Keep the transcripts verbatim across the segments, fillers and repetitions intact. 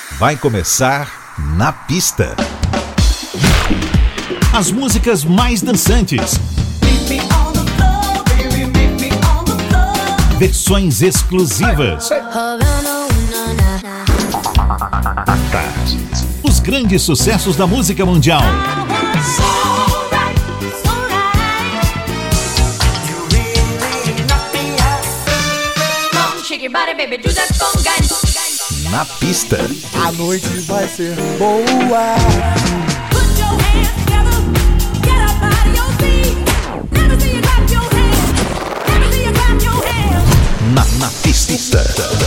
Vai começar Na Pista. As músicas mais dançantes. Versões exclusivas. Os grandes sucessos da música mundial. Na Pista. A noite vai ser boa. Na, na Pista.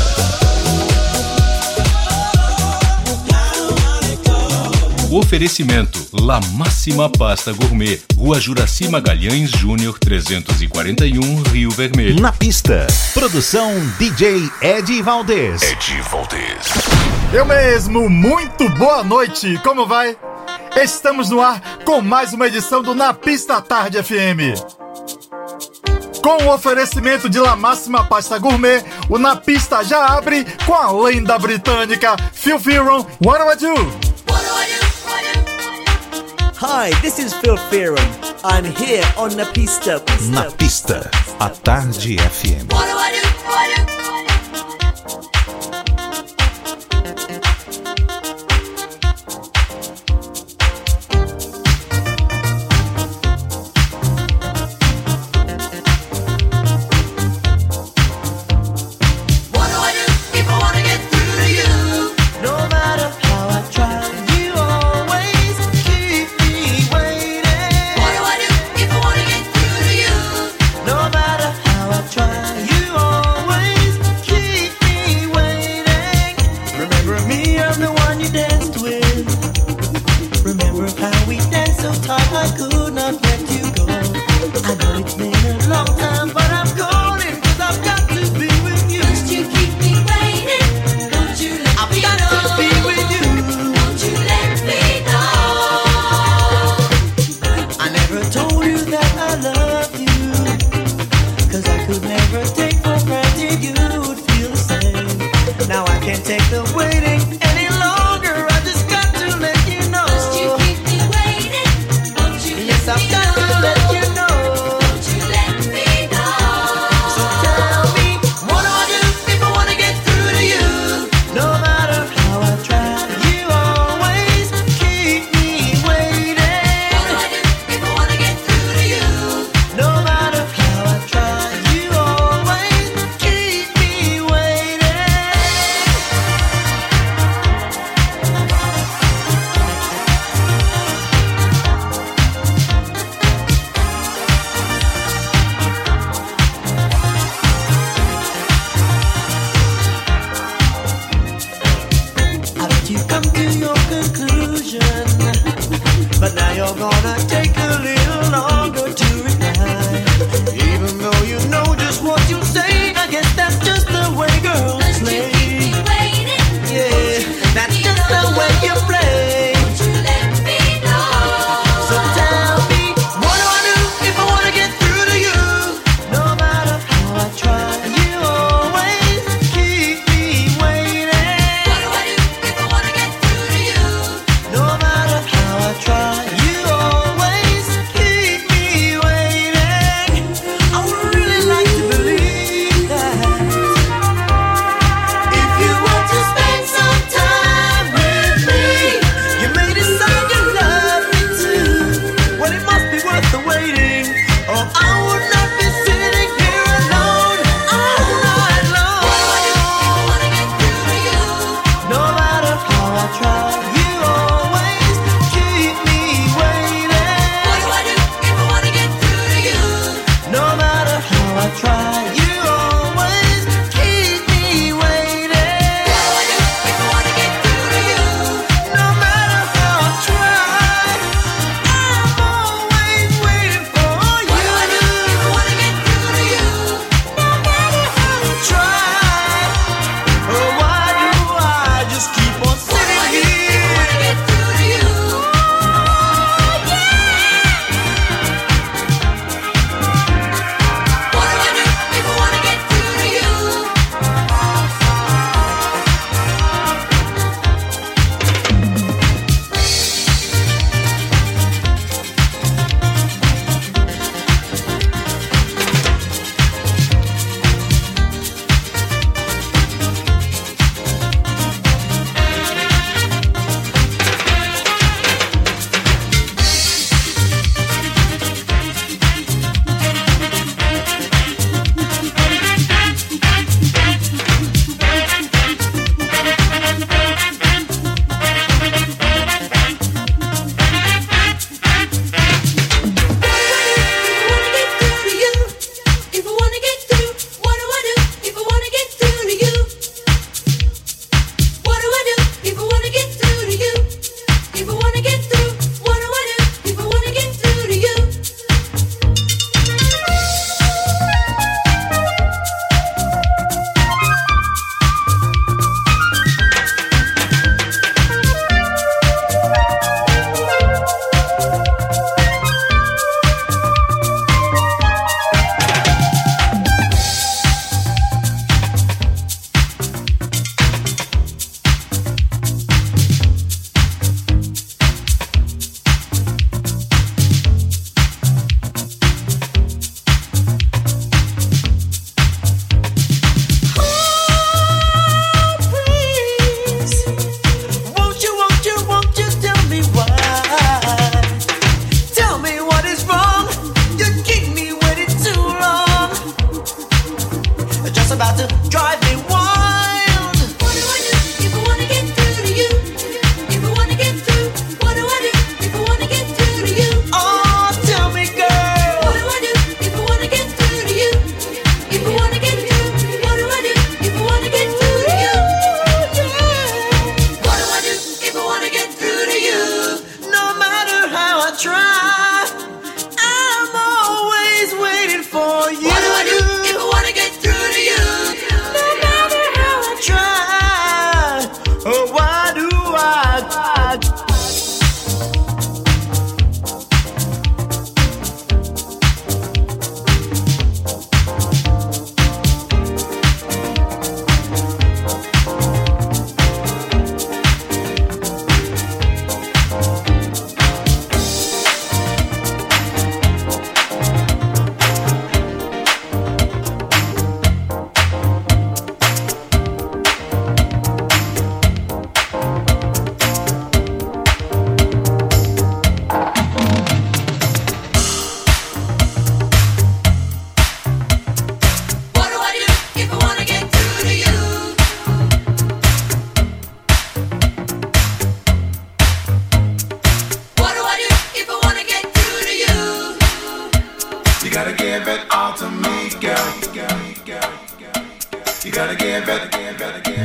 Oferecimento La Máxima Pasta Gourmet, Rua Juraci Magalhães Júnior trezentos e quarenta e um, Rio Vermelho. Na Pista. Produção D J Ed Valdez. Ed Valdez. Eu mesmo, muito boa noite, como vai? Estamos no ar com mais uma edição do Na Pista Tarde F M. Com o oferecimento de La Máxima Pasta Gourmet, o Na Pista já abre com a lenda britânica Phil Fearon, What Do I Do? What do I do? Hi, this is Phil Fearon. I'm here on Na Pista. Pista. Na Pista, a Tarde F M. What do I do? What do I do? No matter how I try, you always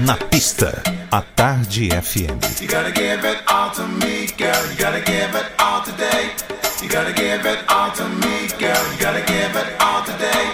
Na pista, a Tarde F M. You gotta give it all to me, girl. You gotta give it all today. You gotta give it all to me, girl. You gotta give it all today.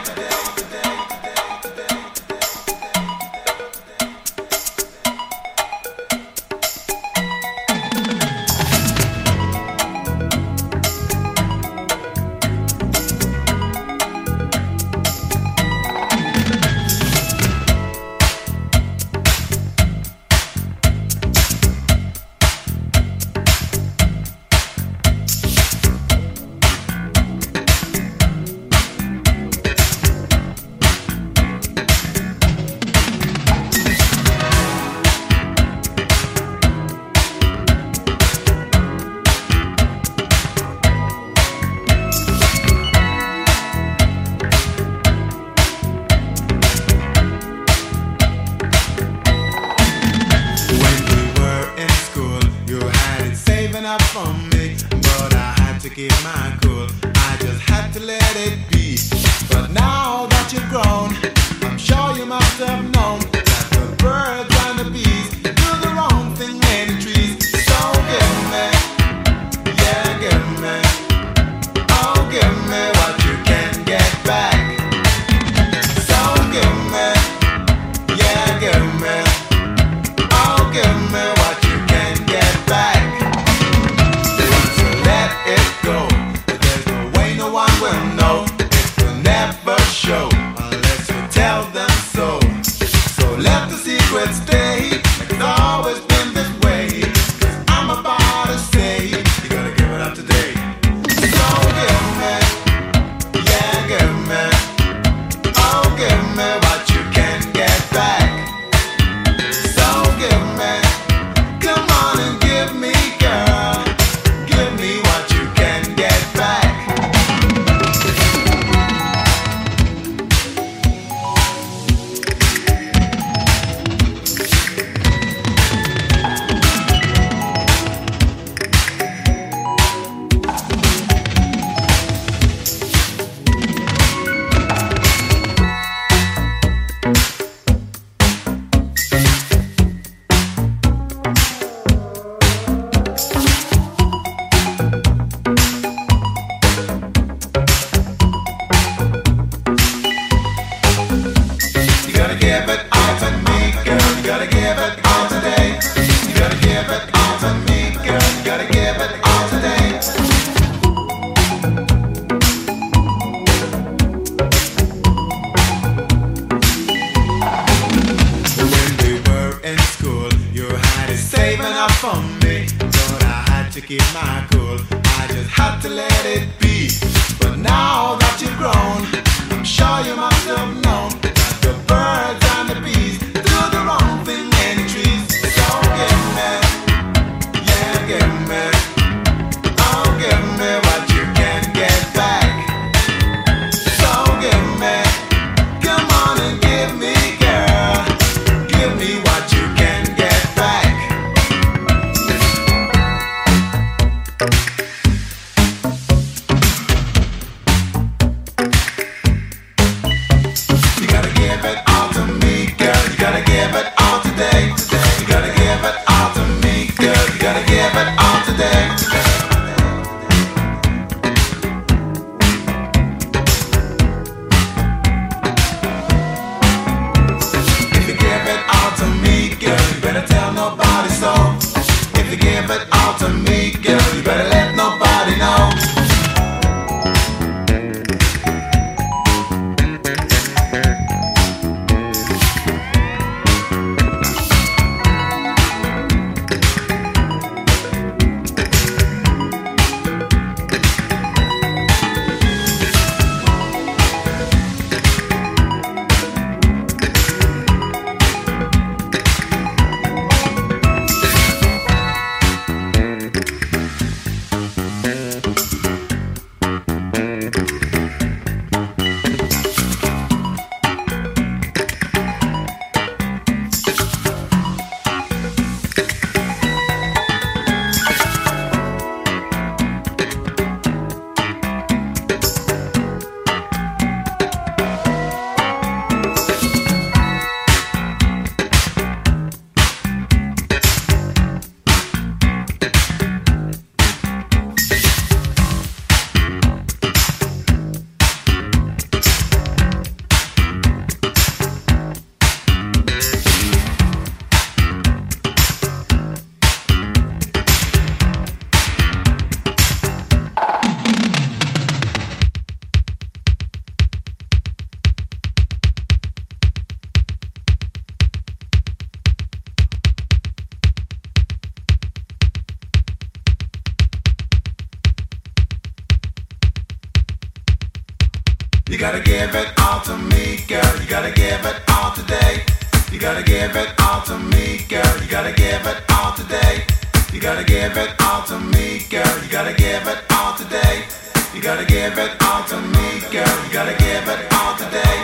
You gotta give it all to me, girl. You gotta give it all today. You gotta give it all to me, girl. You gotta give it all today. You gotta give it all to me, girl. You gotta give it all today. You gotta give it all to me, girl. You gotta give it all today.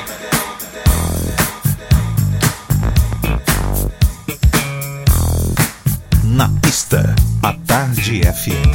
Na pista, a Tarde F M.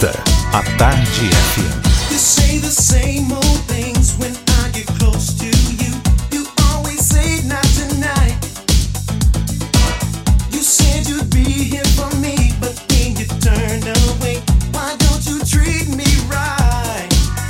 pista, a Tarde F M. You say the same old things when I get close to you. You always say not tonight. You said you'd be here for me, but then you turned away. Why don't you treat me right?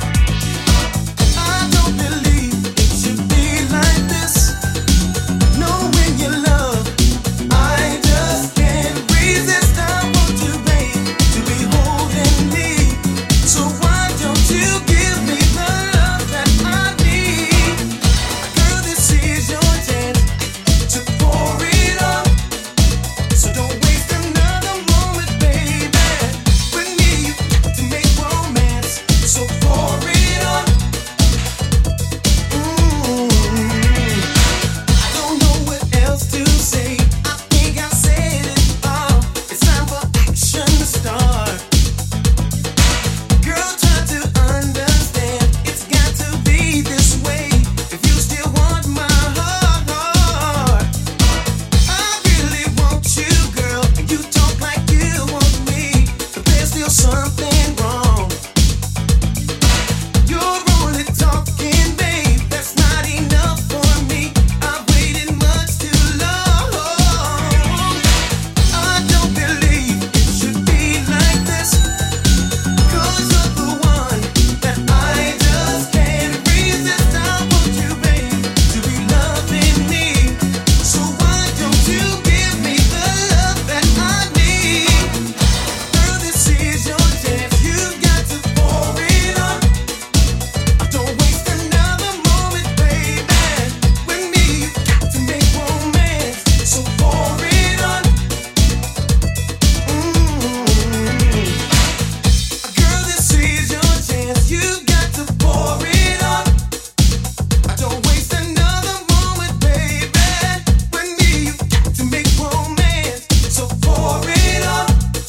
I don't believe it should be like this. Knowing your love, I just can't resist. I want you, babe, to be holding me. So why don't you give me the love that I need? Girl, this is your chance to pour it up. So don't waste another moment, baby. With me to make romance. So pour it up. Mm. I don't know what else to say. I think I said it all. It's time for action to start. Girl, try to understand. It's got to be this way. If you still want my heart, I really want you, girl. And you talk like you want me, but there's still something wrong. You're only talking, babe. That's not enough for me. I've waited much too long. I don't believe it should be like this. Cause you're the one that I just can't resist. I want you, babe, to be loving me. So why don't you give me the love that I need? Girl, this is your chance. You've got to pour it up. Don't waste another moment, baby. With me, you got to make romance. So pour it up. Mm. Girl, this is your chance. You've got to pour it up. Don't waste another moment, baby. With me, you got to make romance. So pour it up.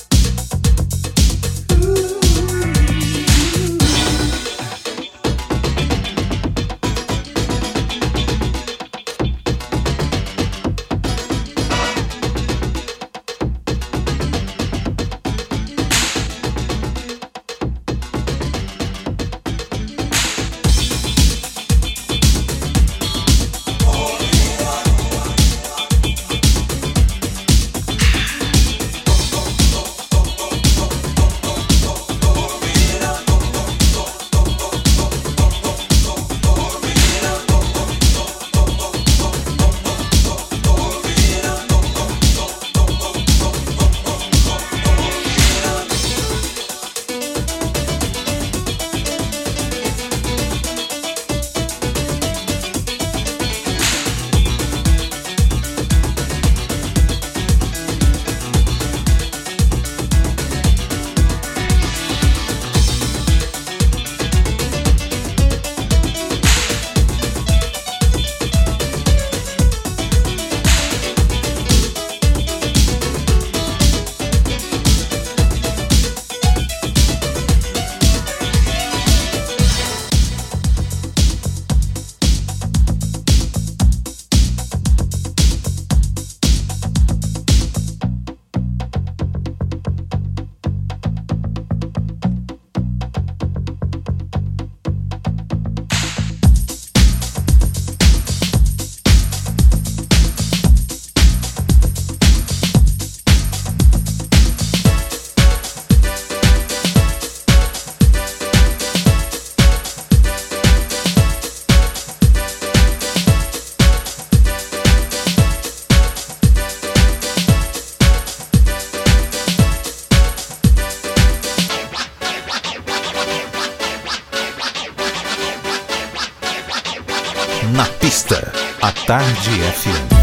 Na pista, a Tarde F M.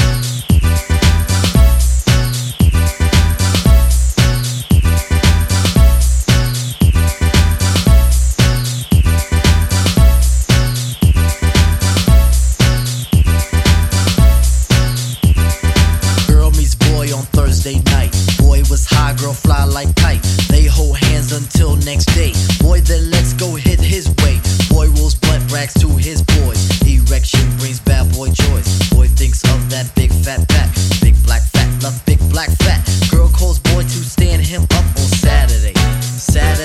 Girl meets boy on Thursday night. Boy was high, girl fly like kite. They hold hands until next day. Boy then let's go hit his way. Boy rolls butt brags to his boys. Erection brings bad boy joys. Boy thinks of that big fat back. Big black fat, love big black fat. Girl calls boy to stand him up on Saturday. Saturday.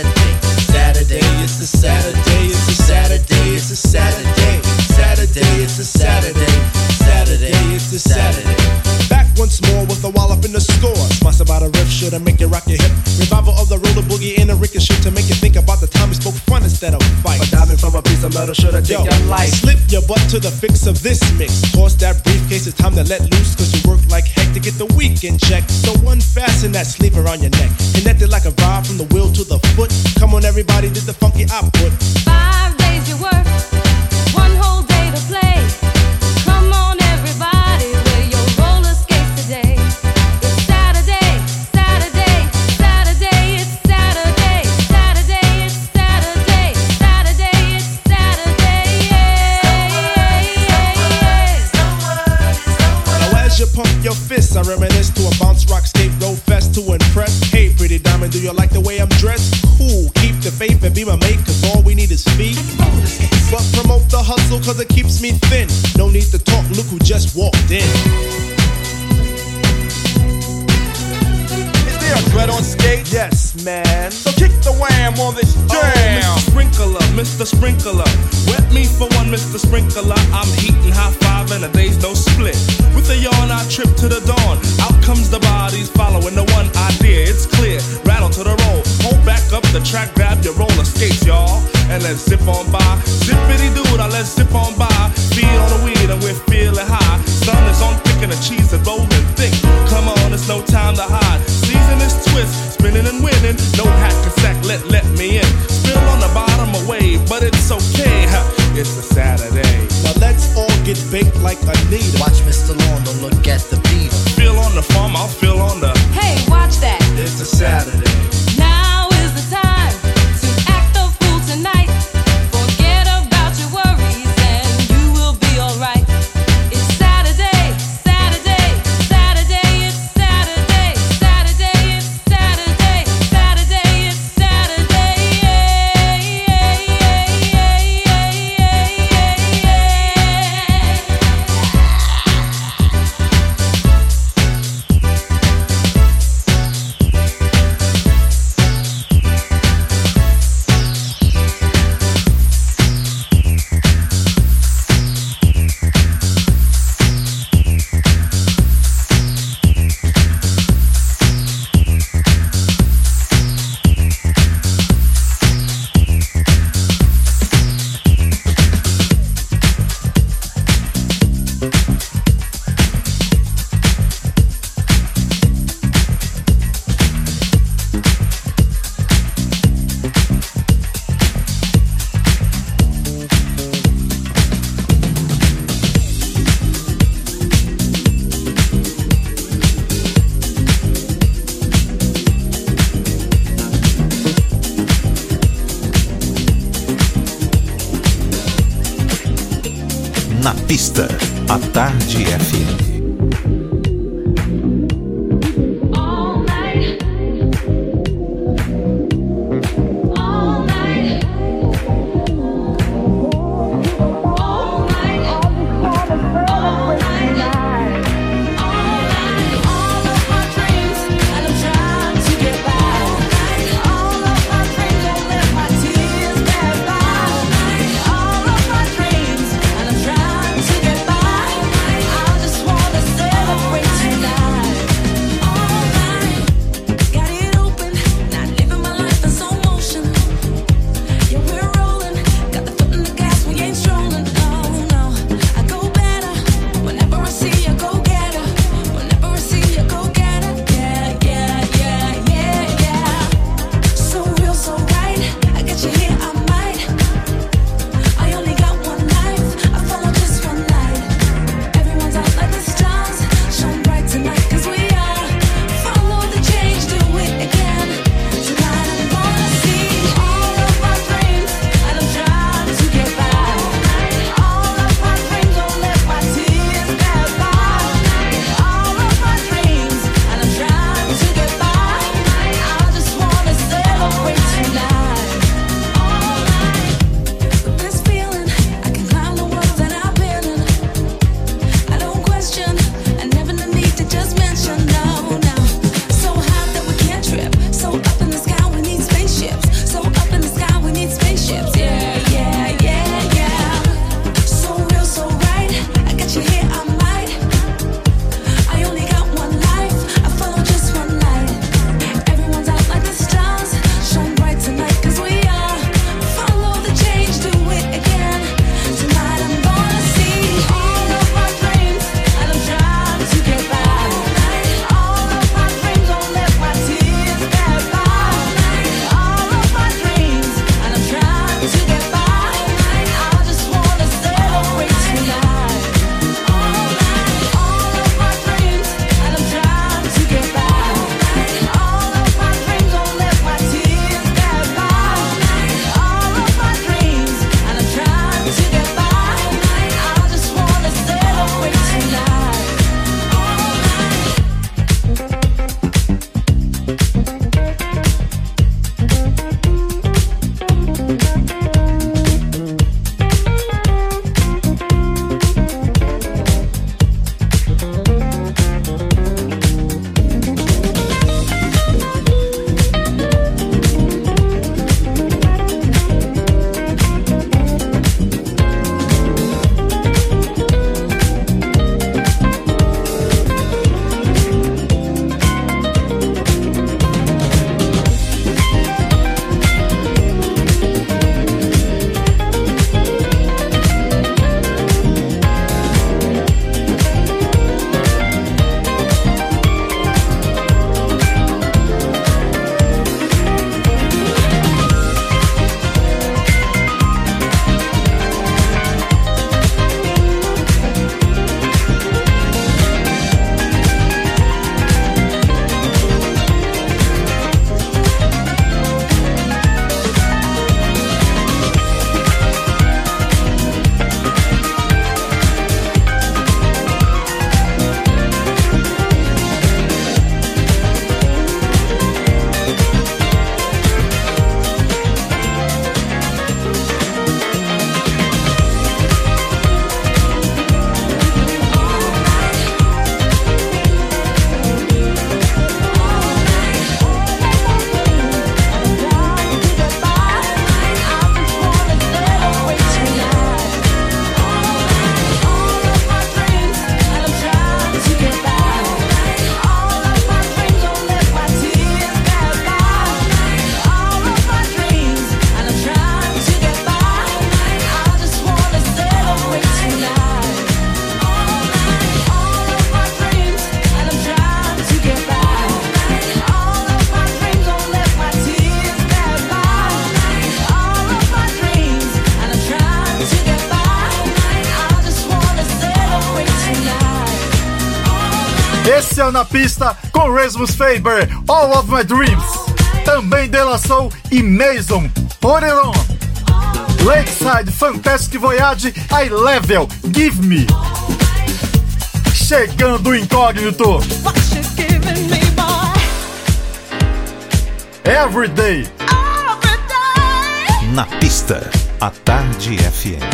to make you rock your hip. Revival of the roller boogie and a ricochet to make you think about the time we spoke fun instead of fight. But diving from a piece of metal should have taken your life. Slip your butt to the fix of this mix. Toss that briefcase, it's time to let loose, cause you work like heck to get the weekend check. So unfasten that sleeve around your neck. Connected like a vibe from the wheel to the foot. Come on everybody, did the funky output. Five days you work, one whole day to play. Come on everybody, wear your roller skates today. It's Saturday, Saturday, Saturday, it's Saturday, Saturday, it's Saturday, Saturday, it's Saturday, yeah. Now as you pump your fists, I reminisce to a bounce rock skate road fest to impress. Hey pretty diamond, do you like the way I'm dressed? Cool, keep the faith and be my mate, cause all we need is feet. But promote the hustle cause it keeps me thin. No need to talk, look who just walked in. Is there a dread on skate? Yes, man. So kick the wham on this jam. Oh, Mister Sprinkler, Mister Sprinkler. Wet me for one, Mister Sprinkler. I'm heating high five and a day's no split. With a yawn, I trip to the dawn. Out comes the bodies following the one idea. It's clear, rattle to the roll. Hold back up the track, grab your roller skates, y'all. And let's zip on by. Zippity dude, I let's zip on by. Feet on the weed and we're feeling high. Sun is on thick and the cheese is rolling thick. Come on, it's no time to hide. Season is twist, spinning and winning. No hack and sack, let let me in. Spill on the bottom away, but it's okay. Ha, it's a Saturday. Now let's all get baked like Anita. Watch Mister Lawn, don't look at the beat. Feel on the farm, I'll feel on the. Hey, watch that. It's a Saturday. Now is the time to act the fool tonight. Forget about your worries and you will be alright. It's Saturday, Saturday, Saturday, it's Saturday, Saturday, it's Saturday, Saturday, it's Saturday, yeah, yeah, yeah, yeah, yeah, Na pista, a Tarde F M. I just want Esse é o Na Pista com Rasmus Faber, All of My Dreams. Também dela Soul e Mason, Put It On. Lakeside, Fantastic Voyage, I Level, Give Me. Chegando o incógnito. Everyday. Na Pista, a Tarde F M.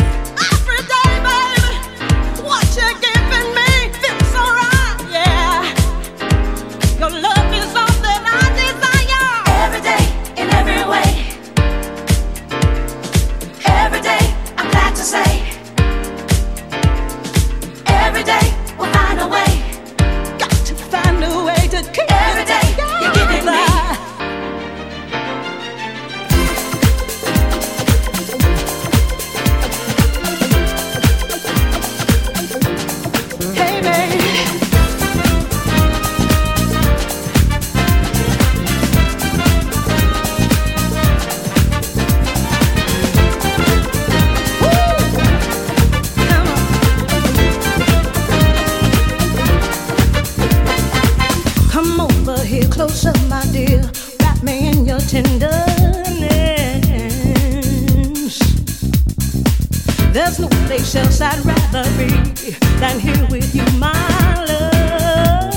Else I'd rather be than here with you, my love.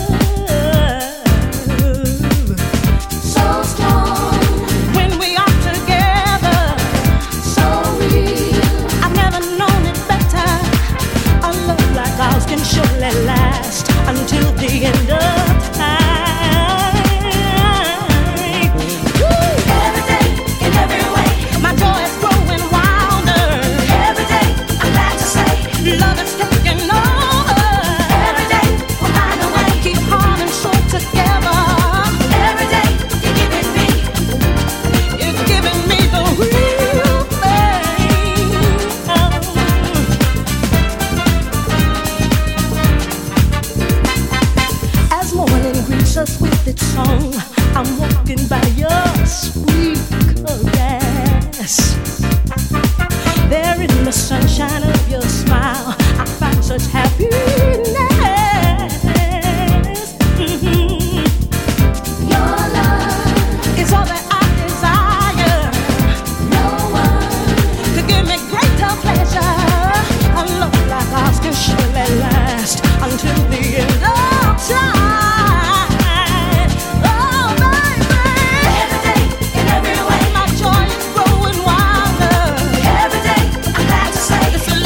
So strong when we are together, so real. I've never known it better. A love like ours can surely last until the end of time. Woo! Every day, in every way, my joy is growing wilder. Every day, I'm glad to say love is taking over. Every day we'll find a way. Keep heart and soul together. Every day you're giving me, you're giving me the real thing. As morning greets us with its song, I'm walking by your sweet caress. There in the sunshine of your smile, I find such happiness. Mhm. Your love is all that I desire. No one could give me greater pleasure. A love like ours can surely last until the end of time. Oh, baby. Every day, in every way, my joy is growing wilder. Every day, I'm glad to say this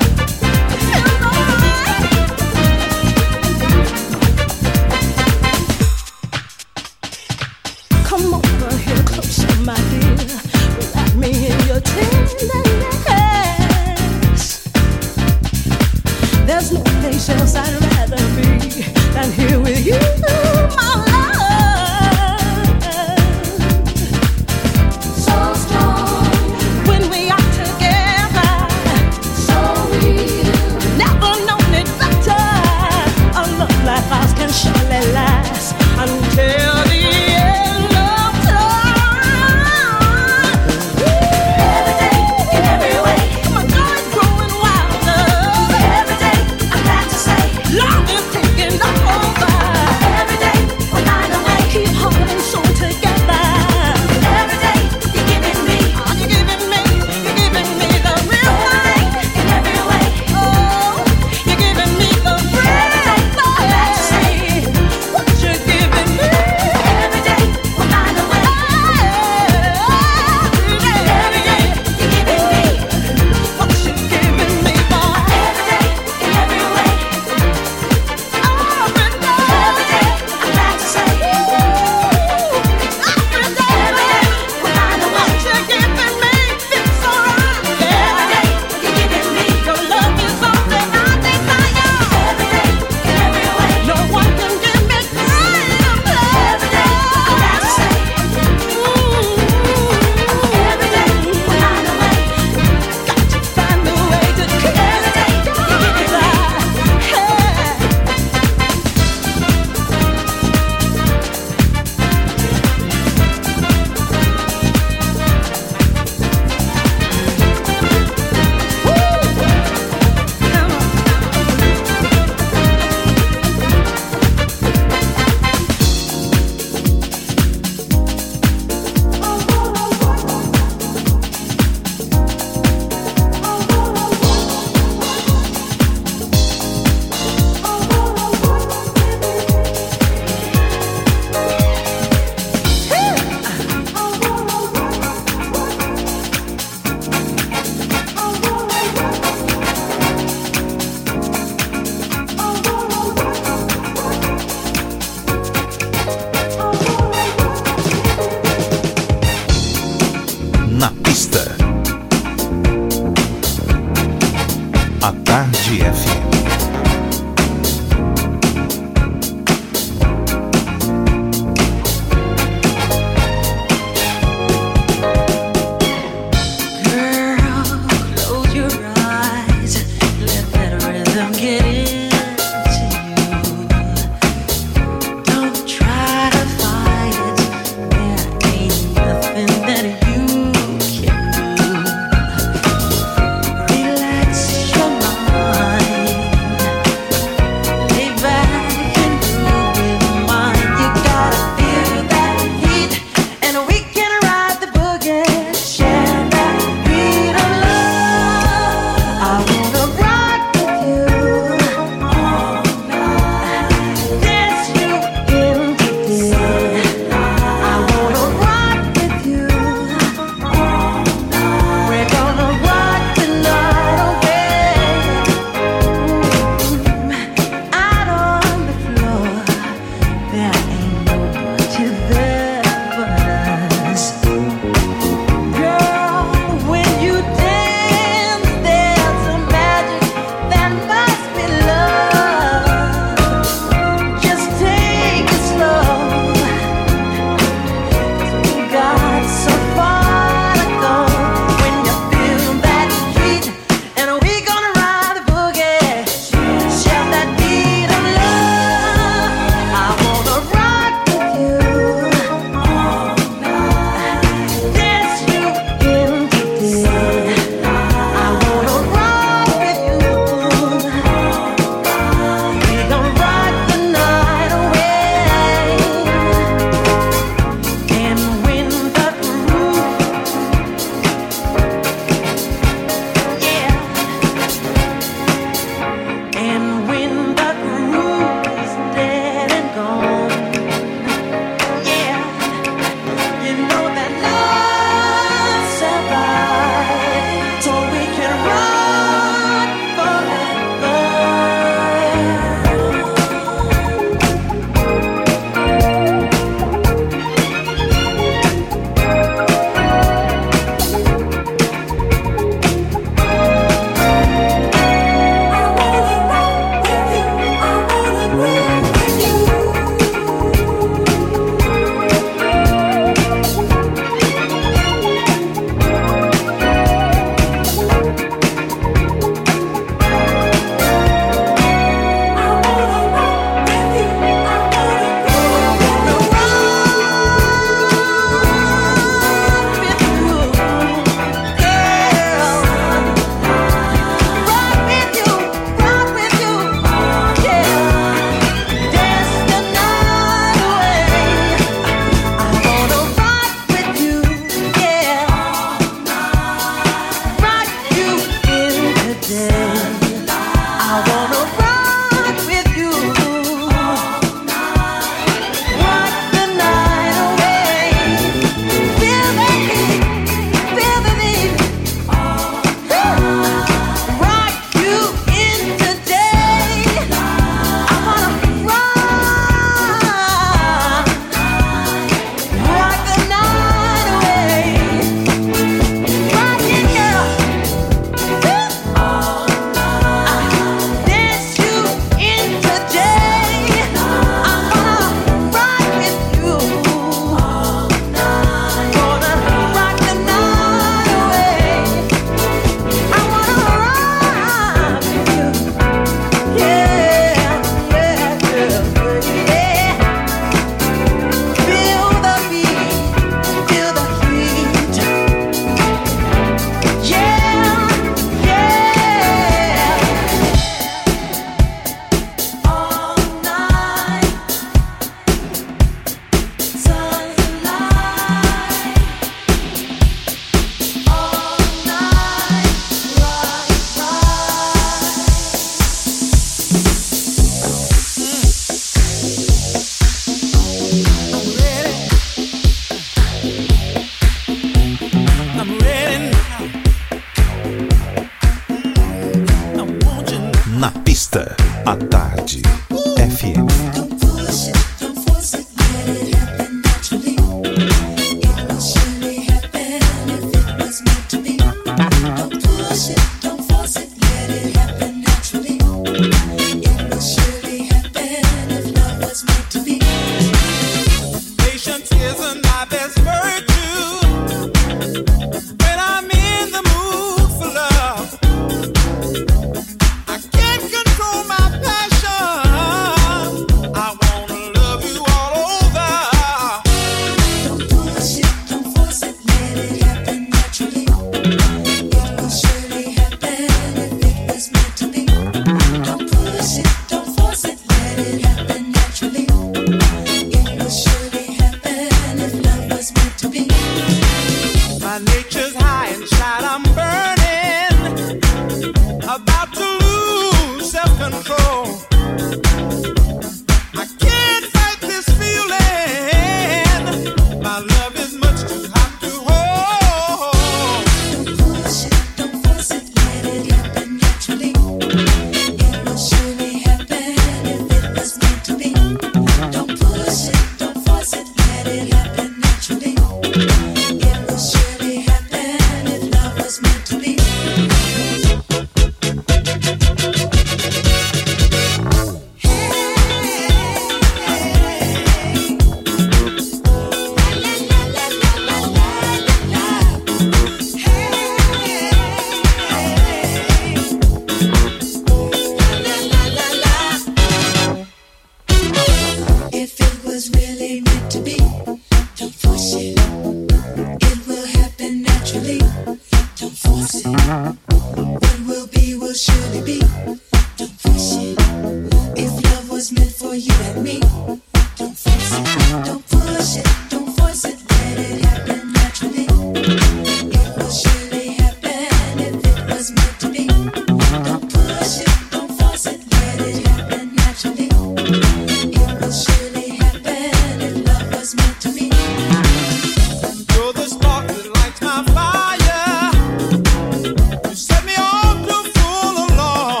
was really meant to be. Don't force it. It will happen naturally. Don't force it. What will be will surely be. Don't force it. If love was meant for you and me, don't force it. Don't push it. Don't force it. Let it happen naturally. It will surely happen if it was meant to be. Don't push it. Don't force it. Let it happen naturally. It will surely happen if love was meant to be. You're the spark that lights my fire. You set me on to fool along.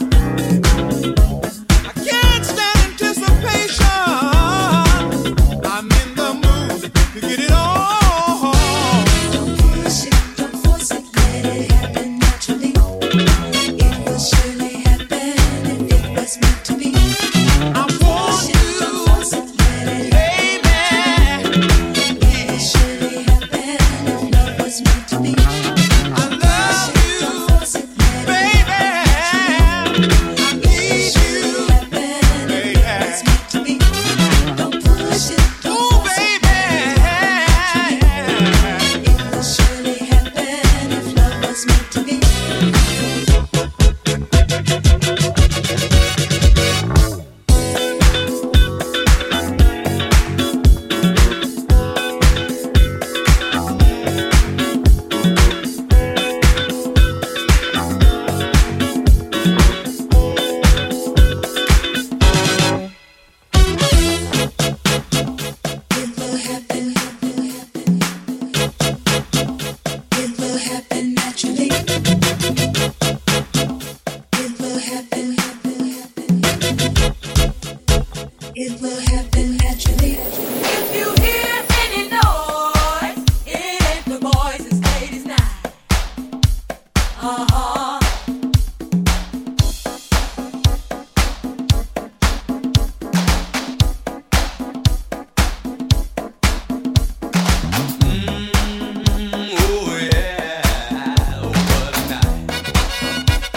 I can't stand anticipation. I'm in the mood to get it on. Don't push it, don't force it, let it happen naturally. It will surely happen if it was meant to be. I want Push it, don't force it, let it happen. It will surely happen if love was meant to be. I love you, Don't force it, let it baby. I need you, happen if it was meant to be. Don't push it, don't ooh, force it, baby. it will surely happen if love was meant to be. It will happen. It will happen naturally. It will happen. It will happen naturally. If you hear any noise, it ain't the boys, it's ladies' night. Uh-huh. Oh yeah, oh what a night.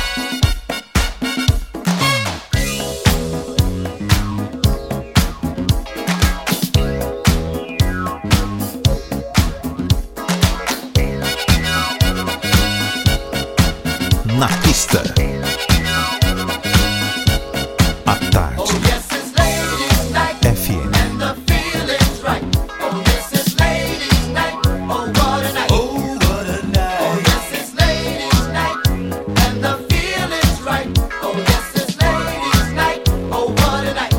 Na pista. À tarde. Oh yes, it's ladies' night, F M. and the feeling's right. Oh yes, it's ladies' night. Oh what a night. Oh what a night. Oh yes, it's ladies' night, and the feeling's right. Oh yes, it's ladies' night. Oh what a night.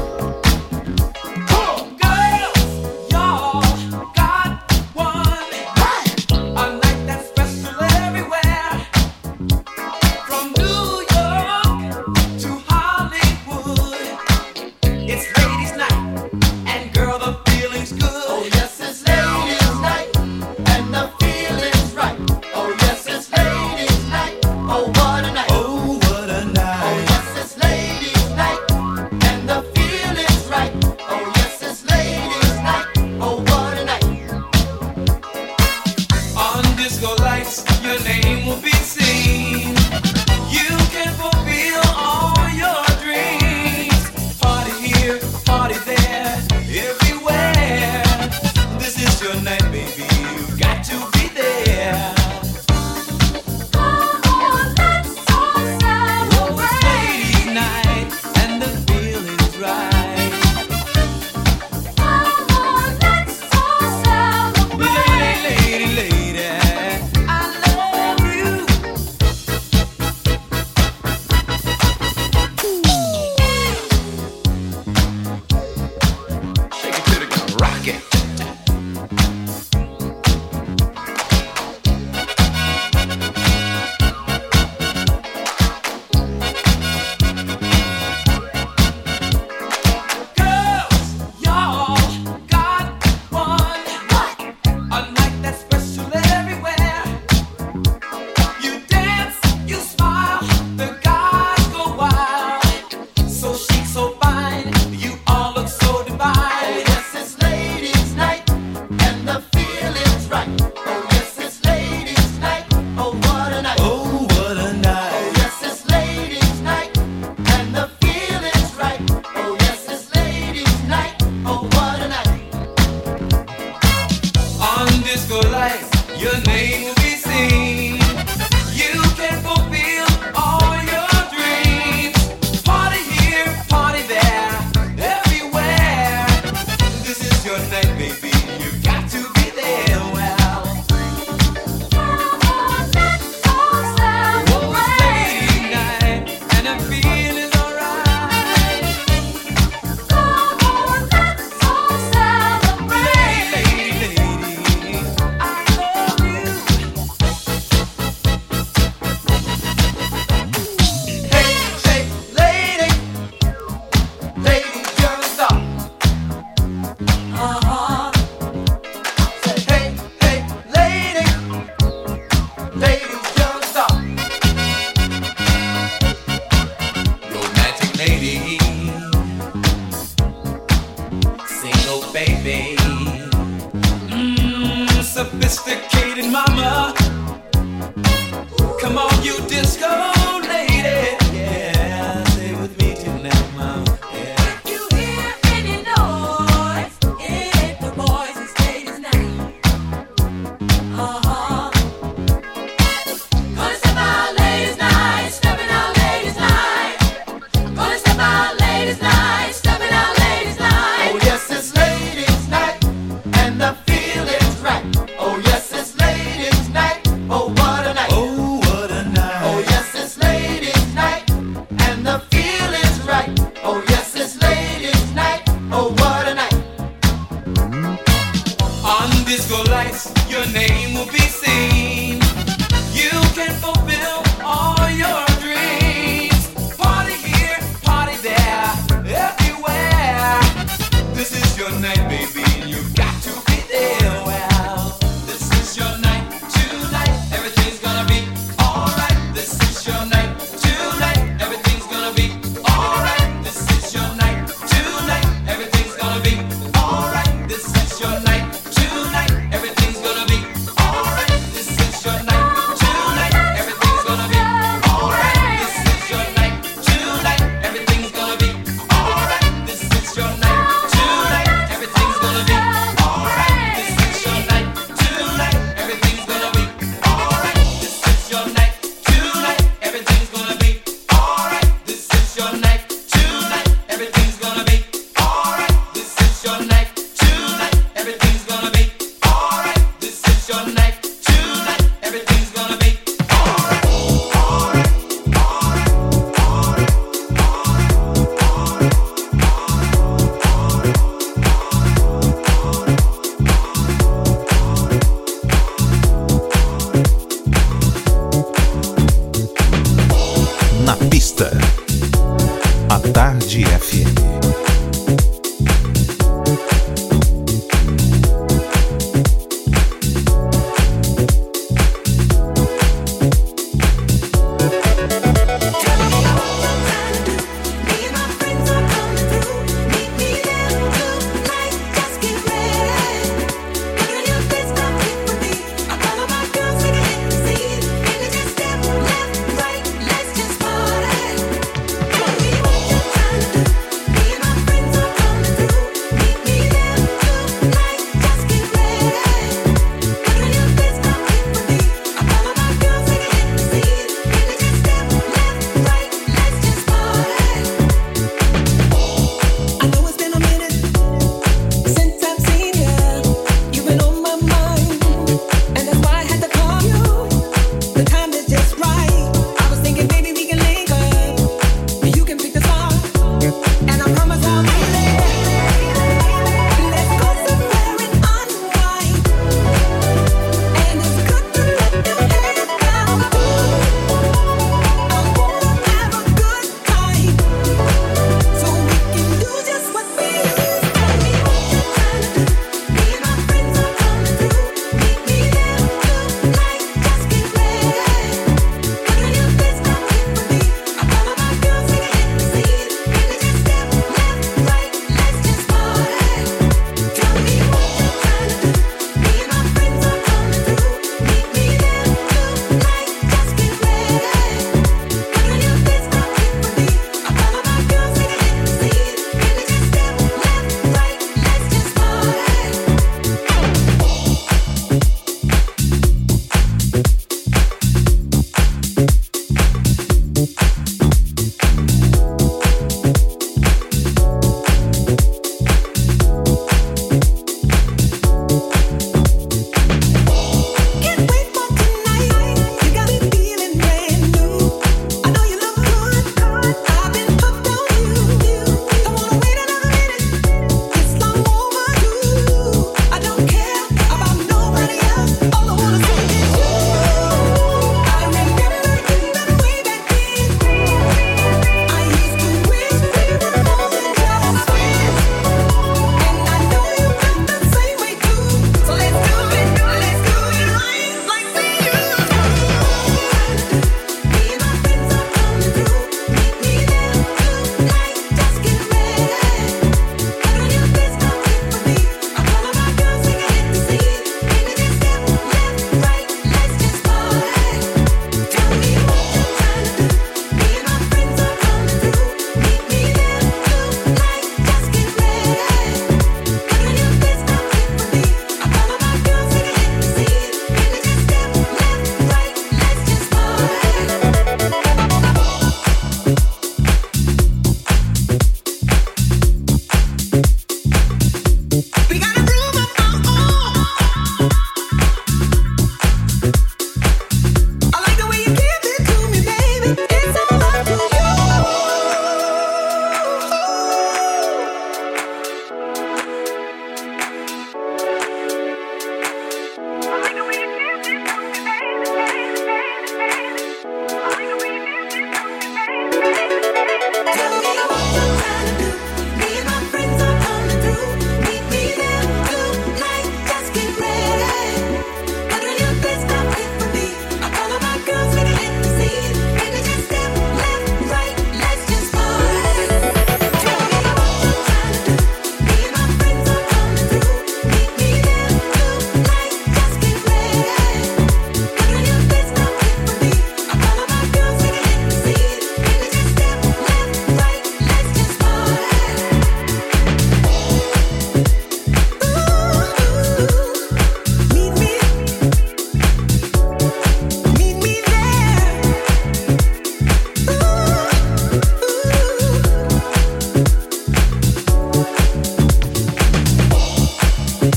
Girls, y'all got one. A night that's special everywhere. From New York to Hollywood, it's ladies' night, and girl, the feeling's good. Oh yes, it's ladies' night, and the feeling's right. Oh yes, it's ladies' night. Oh what a night. Oh what a Oh night. yes, it's ladies' night, and the feeling's right. Oh yes, it's ladies' night. Oh what a night. On disco lights, your name will be seen. You can fulfill all your dreams. Party here, party there, everywhere. This is your night, baby. You got to be there. Come on, let's all Oh, it's ladies' celebrate. night, and the feeling's right. Come on, let's all celebrate. Lady, lady, lady, I love you. Shake it to the ground, rock it. Girls, y'all got one. A night that's special everywhere. You dance, you smile, the guys go wild. So chic, so fine, you all look so divine. Oh yes, it's ladies' light, your name will be seen. You can fulfill all your dreams. Party here, party there, everywhere. This is your night, baby. You got to be there. Well, come on, let's all celebrate. It's late night and the feeling's alright. Come on, let's all celebrate. Lady, lady, I love you. Hey, hey, lady, lady, you're a star. Uh-huh. Say, hey, hey, lady, lady, you're a star. Romantic lady, single baby, mm, sophisticated mama. Come on, you disco lady, yeah, stay with me tonight, mama. Yeah. If you hear any noise, it's the boys and ladies night. Uh-huh. Gonna step out ladies night, stepping out ladies night. Gonna step out ladies night, stepping out ladies night. Oh yes, it's ladies night, and the feeling's right. Oh yes, it's ladies night. Oh what a night. Oh what a night. Oh yes, it's ladies night, and the feeling's right. Oh yes, it's ladies night. Oh what a night. On disco lights, your name will be seen. You can fulfill all your dreams. Party here, party there, everywhere. This is your night, baby. You got to be there. Well, this is your night tonight. Everything's gonna be alright. This is your night tonight. Everything's gonna be alright. This is your night tonight. Everything's gonna be alright. This is your night tonight. Everything's gonna be alright. This is your night tonight. Everything's gonna be alright. This is your night tonight. Everything's gonna be alright. This is your night tonight. Everything's gonna be alright. This is your night tonight. Everything's gonna be alright. This is your night tonight. Everything's gonna be alright. This is your night tonight. Everything's gonna be alright. This is your night tonight. Everything's gonna be alright. This is your night tonight. Everything's gonna be Na pista, a Tarde F M. Let's just party.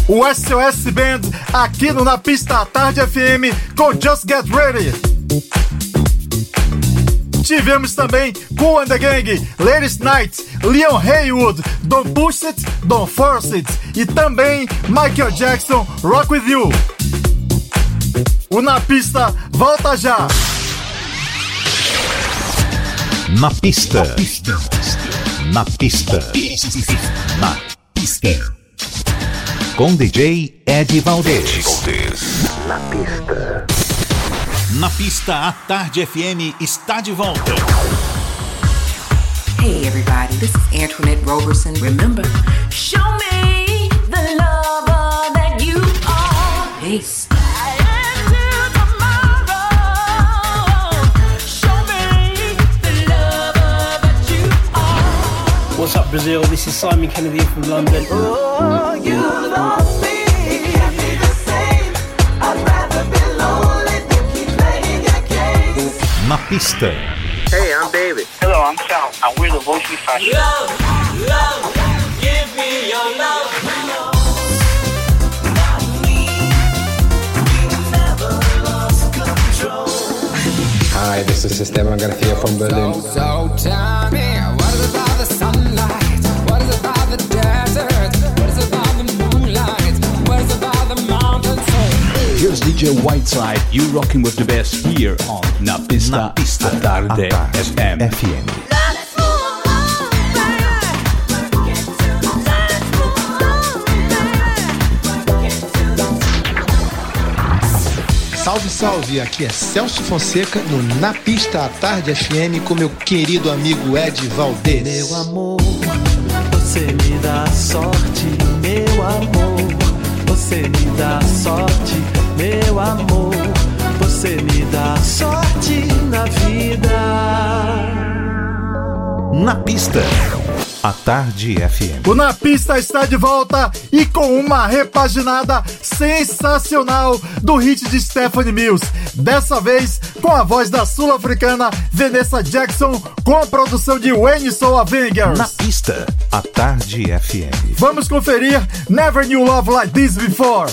o S O S Band, aqui no Na Pista à Tarde F M com Just Get Ready. Tivemos também Kool and the Gang, Ladies Night, Leon Haywood, Don't Push It, Don't Force It e também Michael Jackson, Rock With You. O Na Pista volta já. Na pista. Na pista. Na pista. Com D J Ed Valdez. Na pista. Na pista, a Tarde F M está de volta. Hey everybody, this is Antoinette Roberson. Remember, show me the lover that you are. Peace. What's up, Brazil? This is Simon Kennedy from London. Oh, you love me. It can't be the same. I'd rather be lonely than keep playing your games. Na pista. Hey, I'm David. Hello, I'm Sal, and we're the Voice Fashion. Love, love, give me your love. Hi, this is Esteban Garcia from Berlin. So, so tell me, what is about the sunlight? What is about the desert? What is about the moonlight? What is about the mountains? Here's D J Whiteside, you rocking with the best here on Na Pista, Na Pista à Tarde F M. F M. Salve, salve! Aqui é Celso Fonseca no Na Pista à Tarde F M com meu querido amigo Ed Valdez. Meu amor, você me dá sorte, meu amor. Você me dá sorte, meu amor. Você me dá sorte na vida. Na pista, a Tarde F M. O Na Pista está de volta e com uma repaginada sensacional do hit de Stephanie Mills. Dessa vez com a voz da sul-africana Vanessa Jackson, com a produção de Wayne Soul Avengers. Na pista, a Tarde F M. Vamos conferir Never Knew Love Like This Before.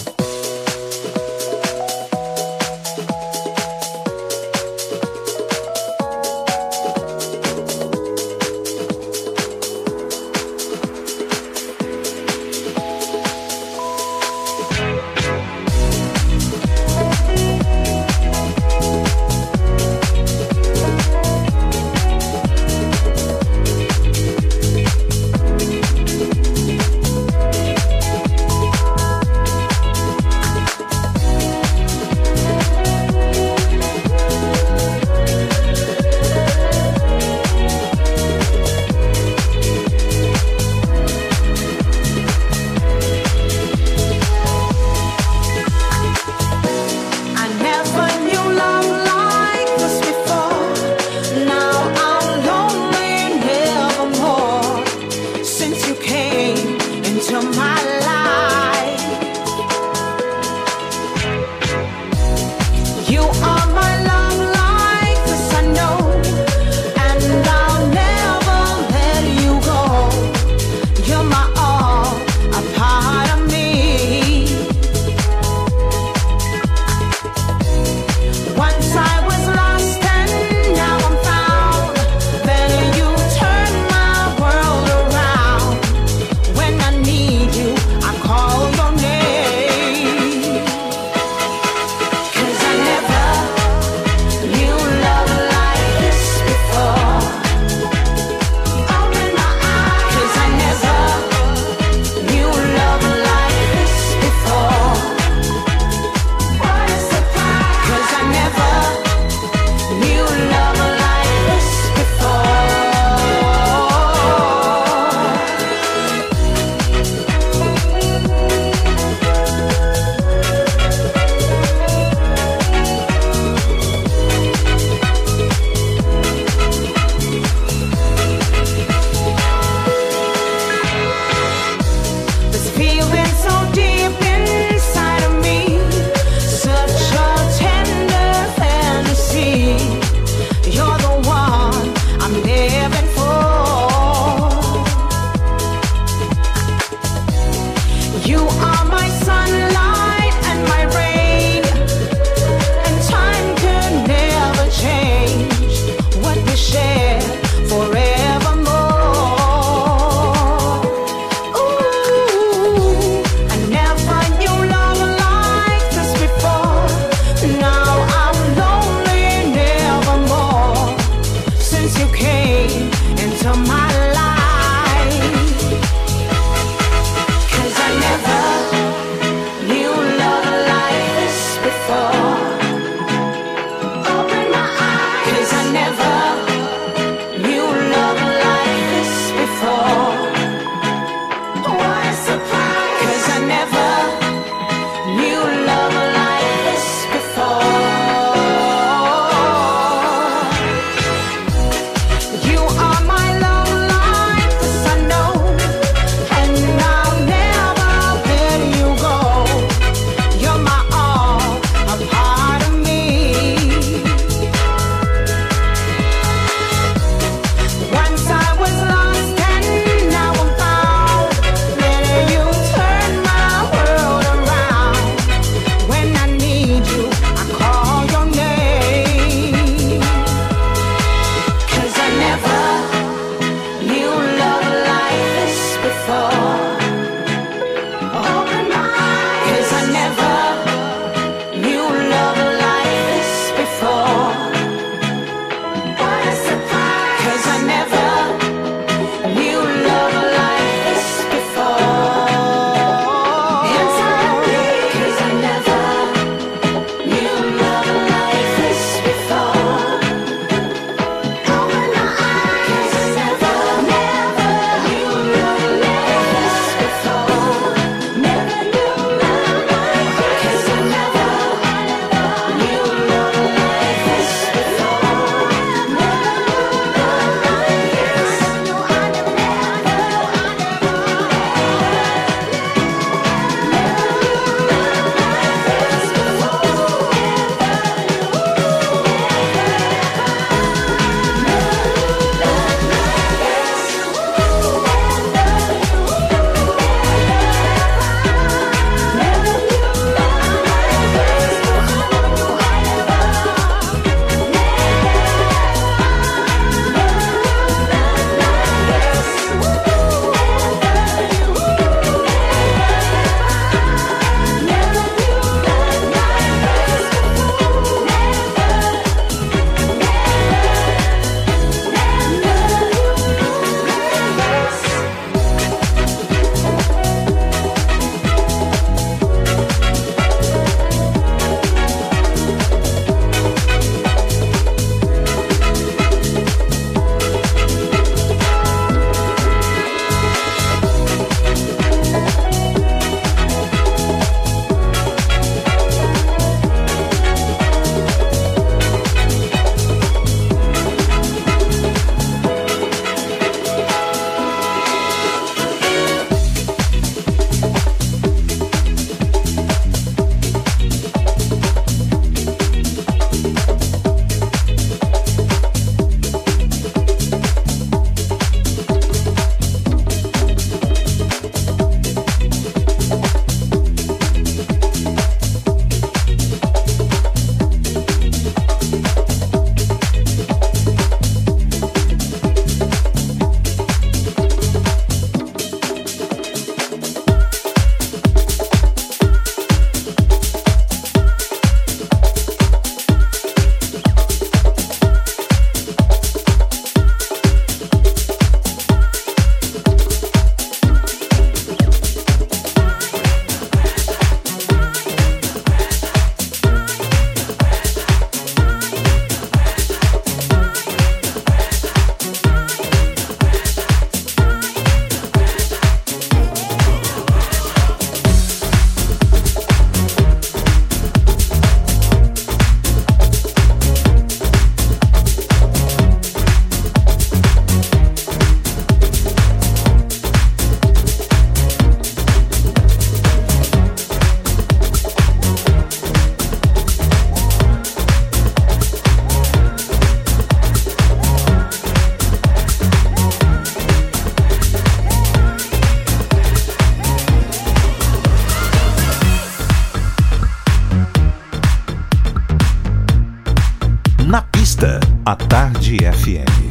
pista, à Tarde F M.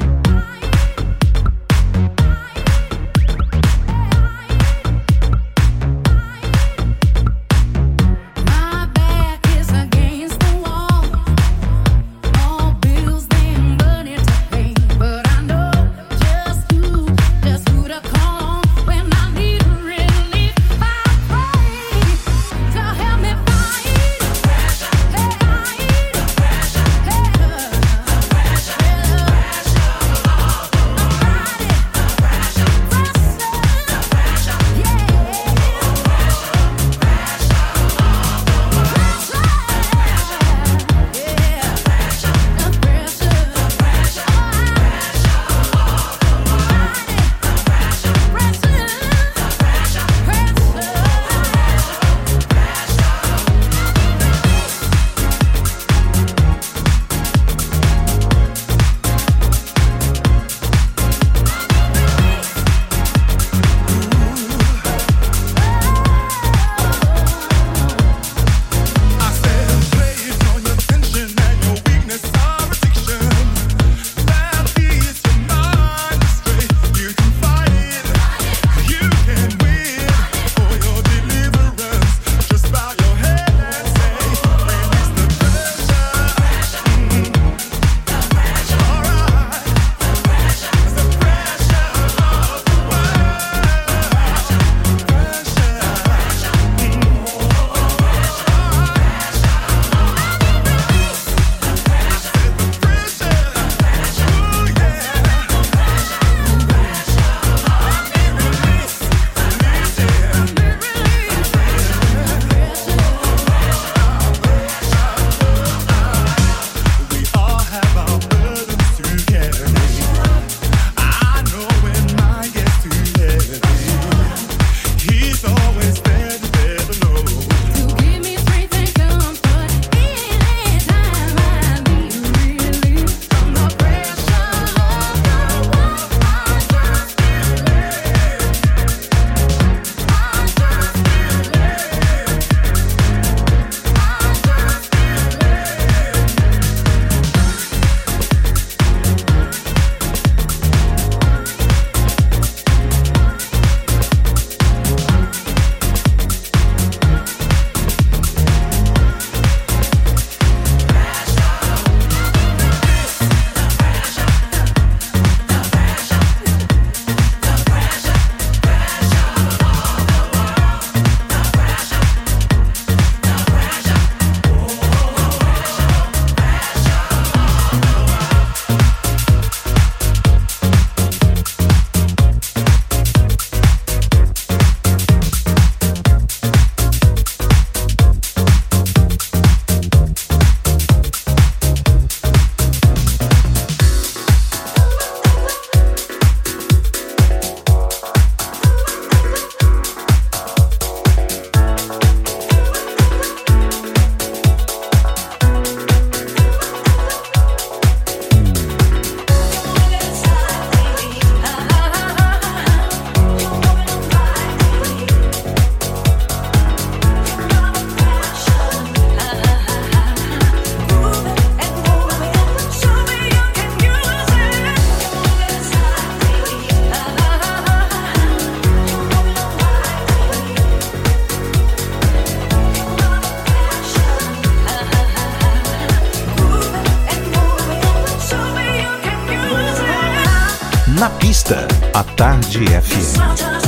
Na pista, à Tarde F M.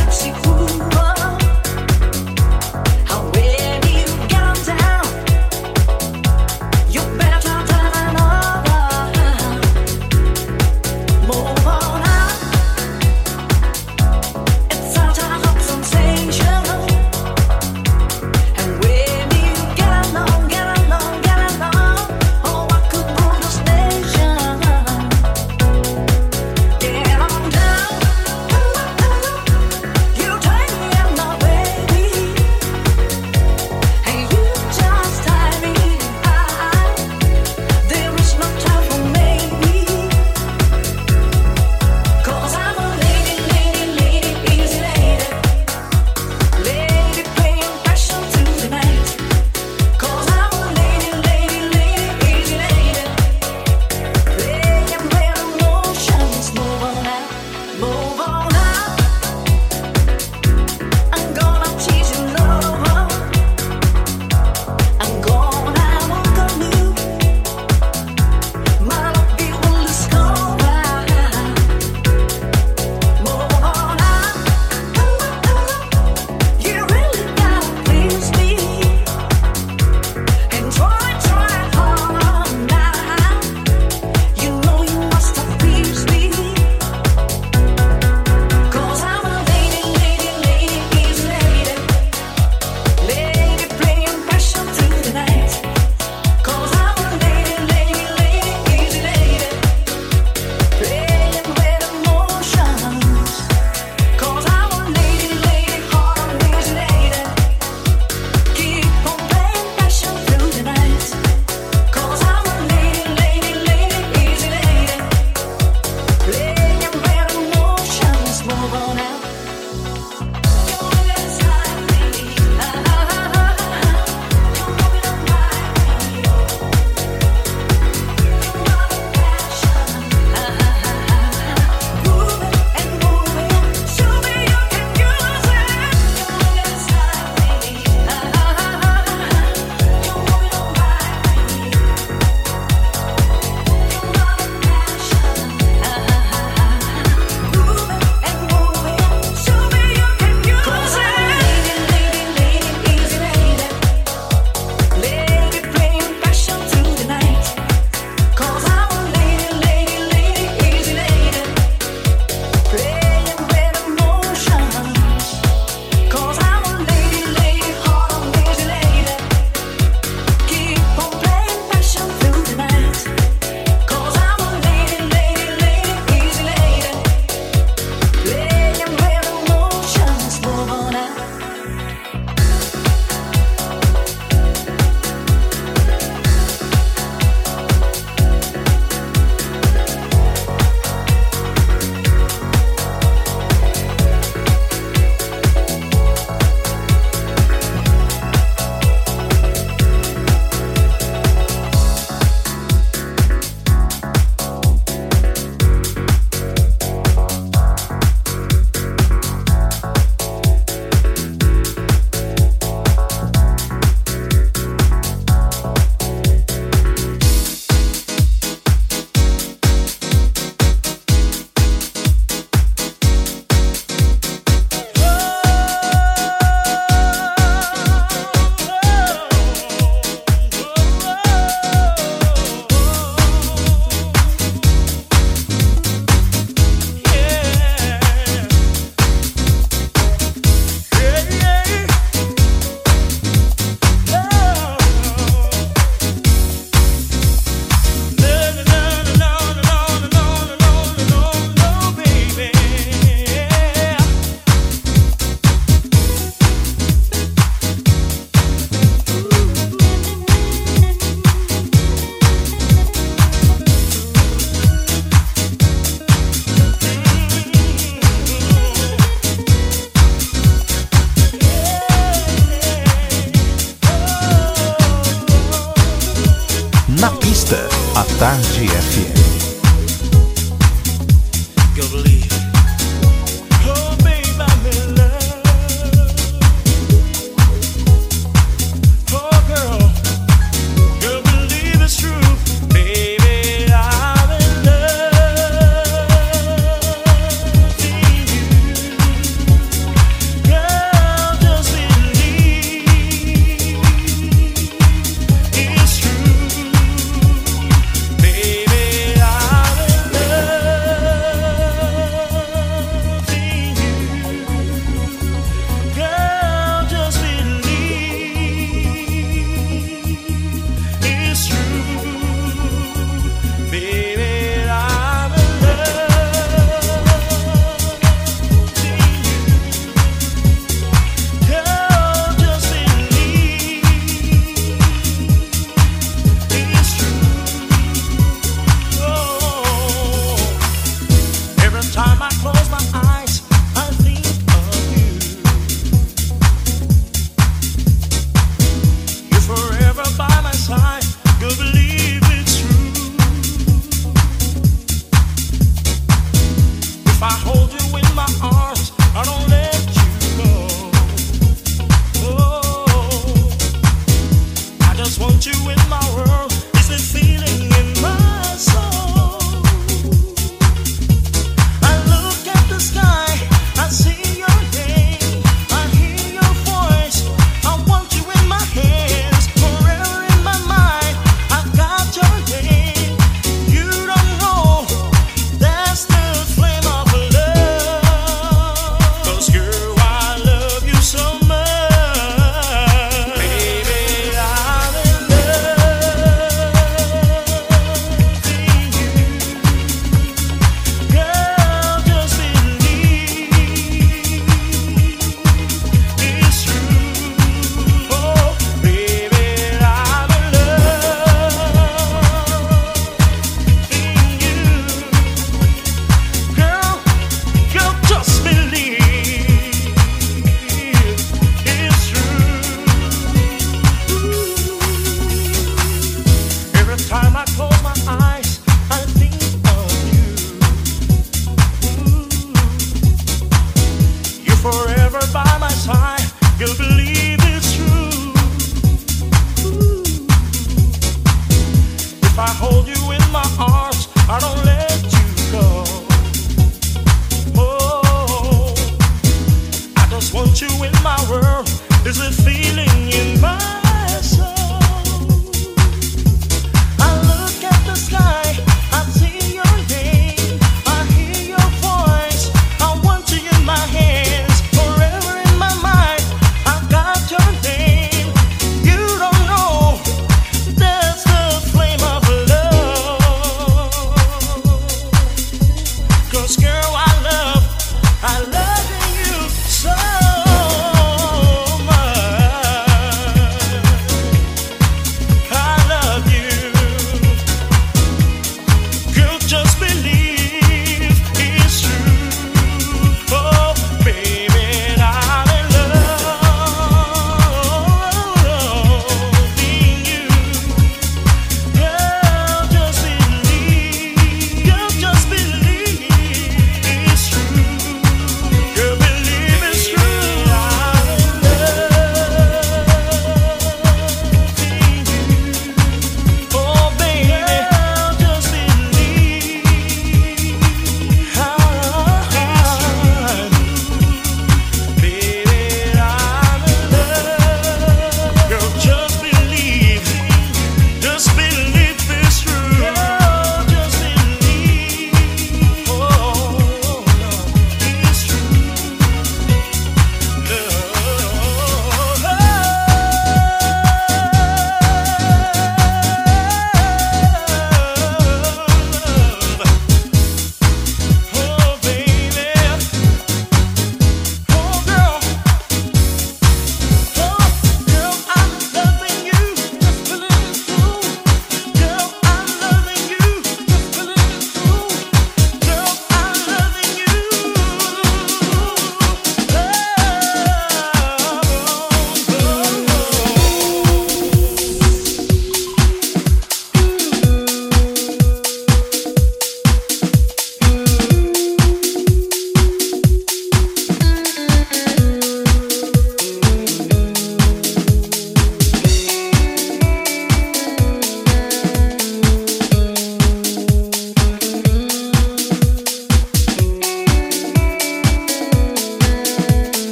Pista, a Tarde F M. Baby, I'm in love.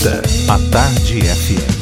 pista, a Tarde F M.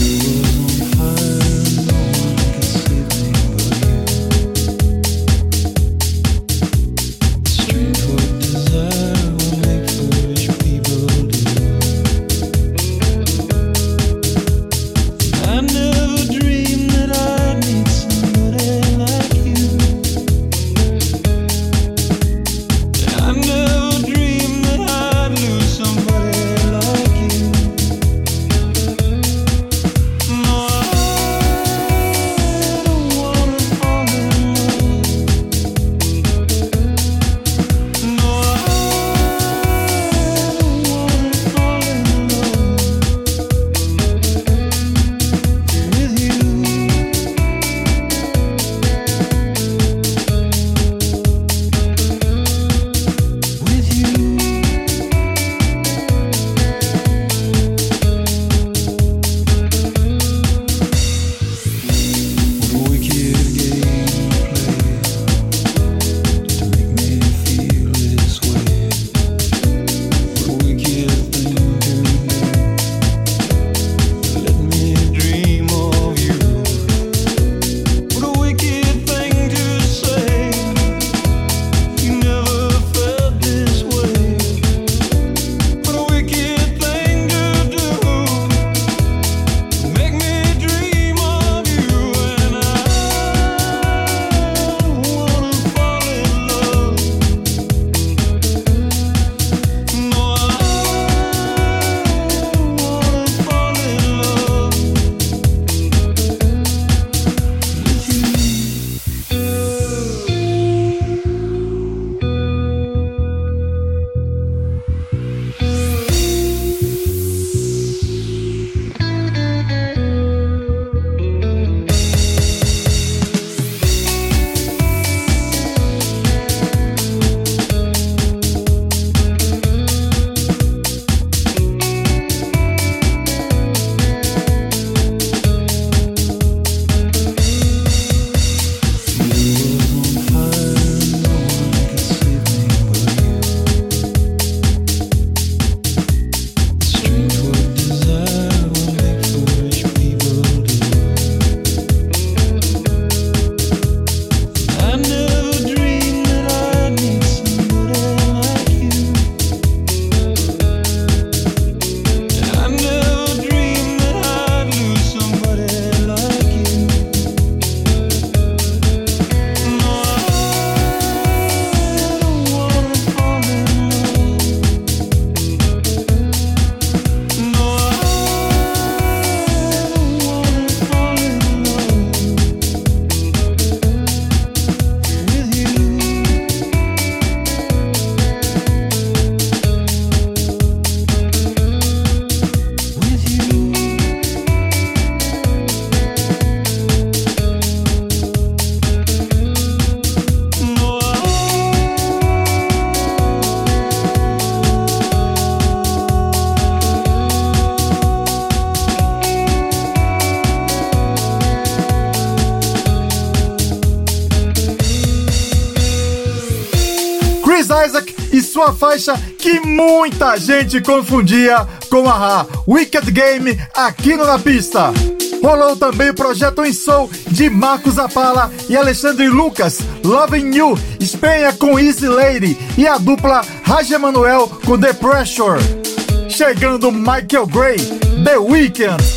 Chris Isaac e sua faixa que muita gente confundia com a Wicked Game aqui no Na Pista. Rolou também o projeto In Soul de Marcos Apala e Alexandre Lucas, Loving You, Espanha com Easy Lady e a dupla Raj Emanuel com The Pressure. Chegando Michael Gray, The Weeknd.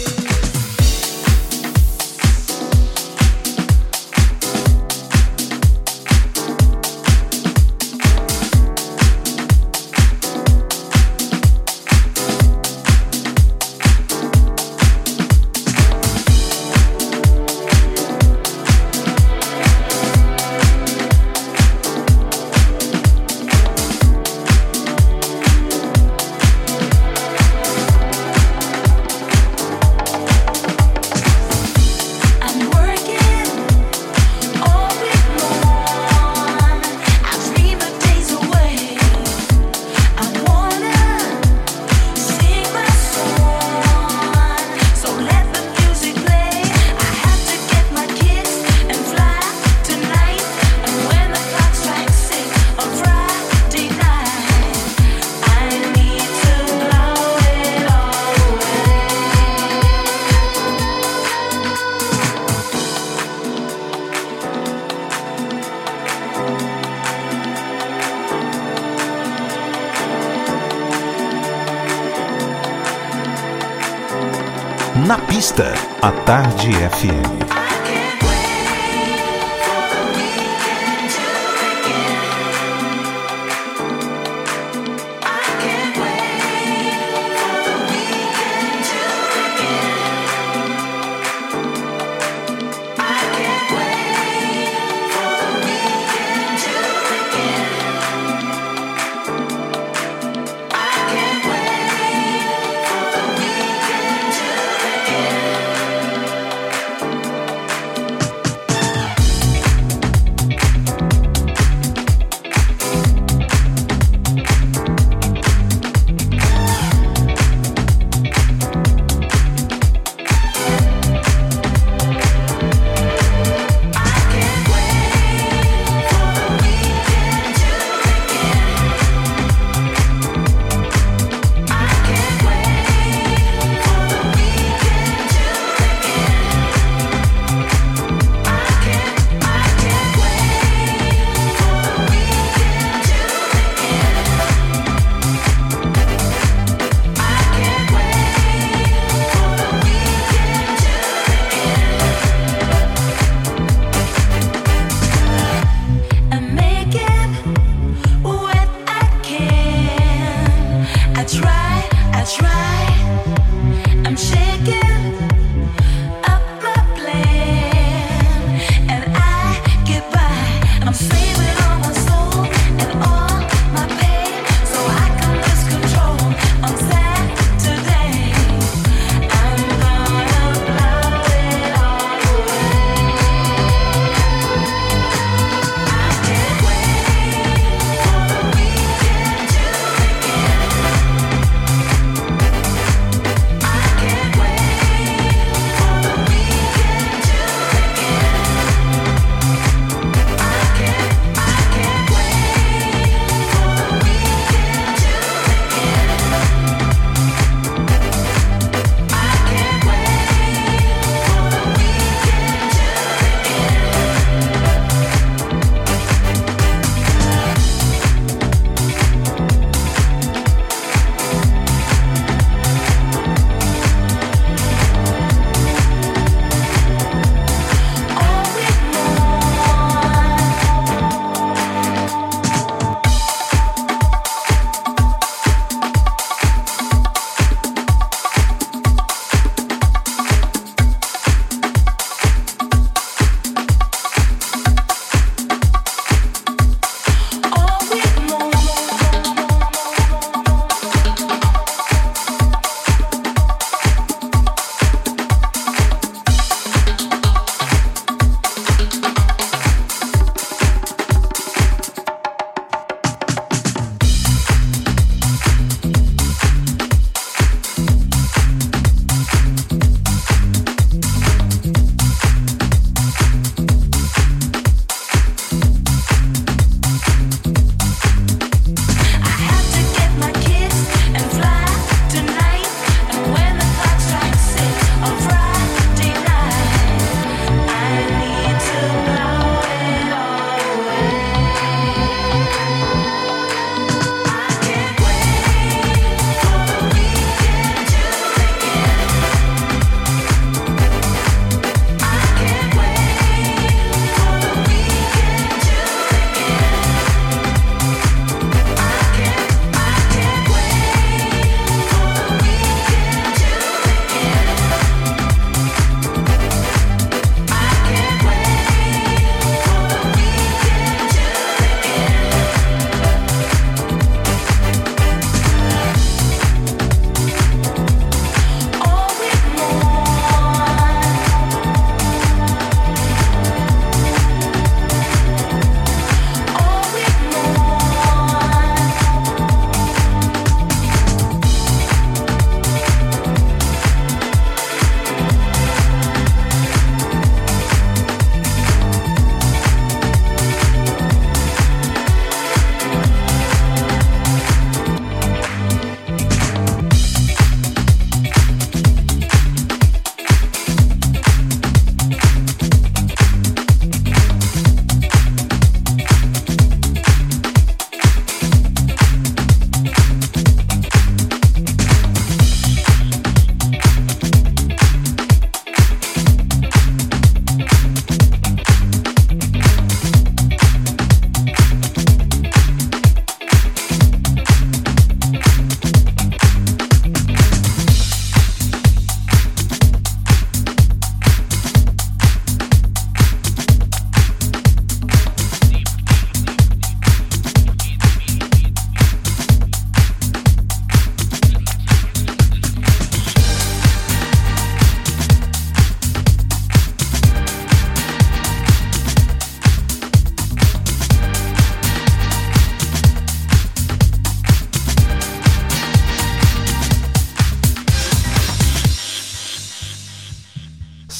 Na pista, a Tarde F M. I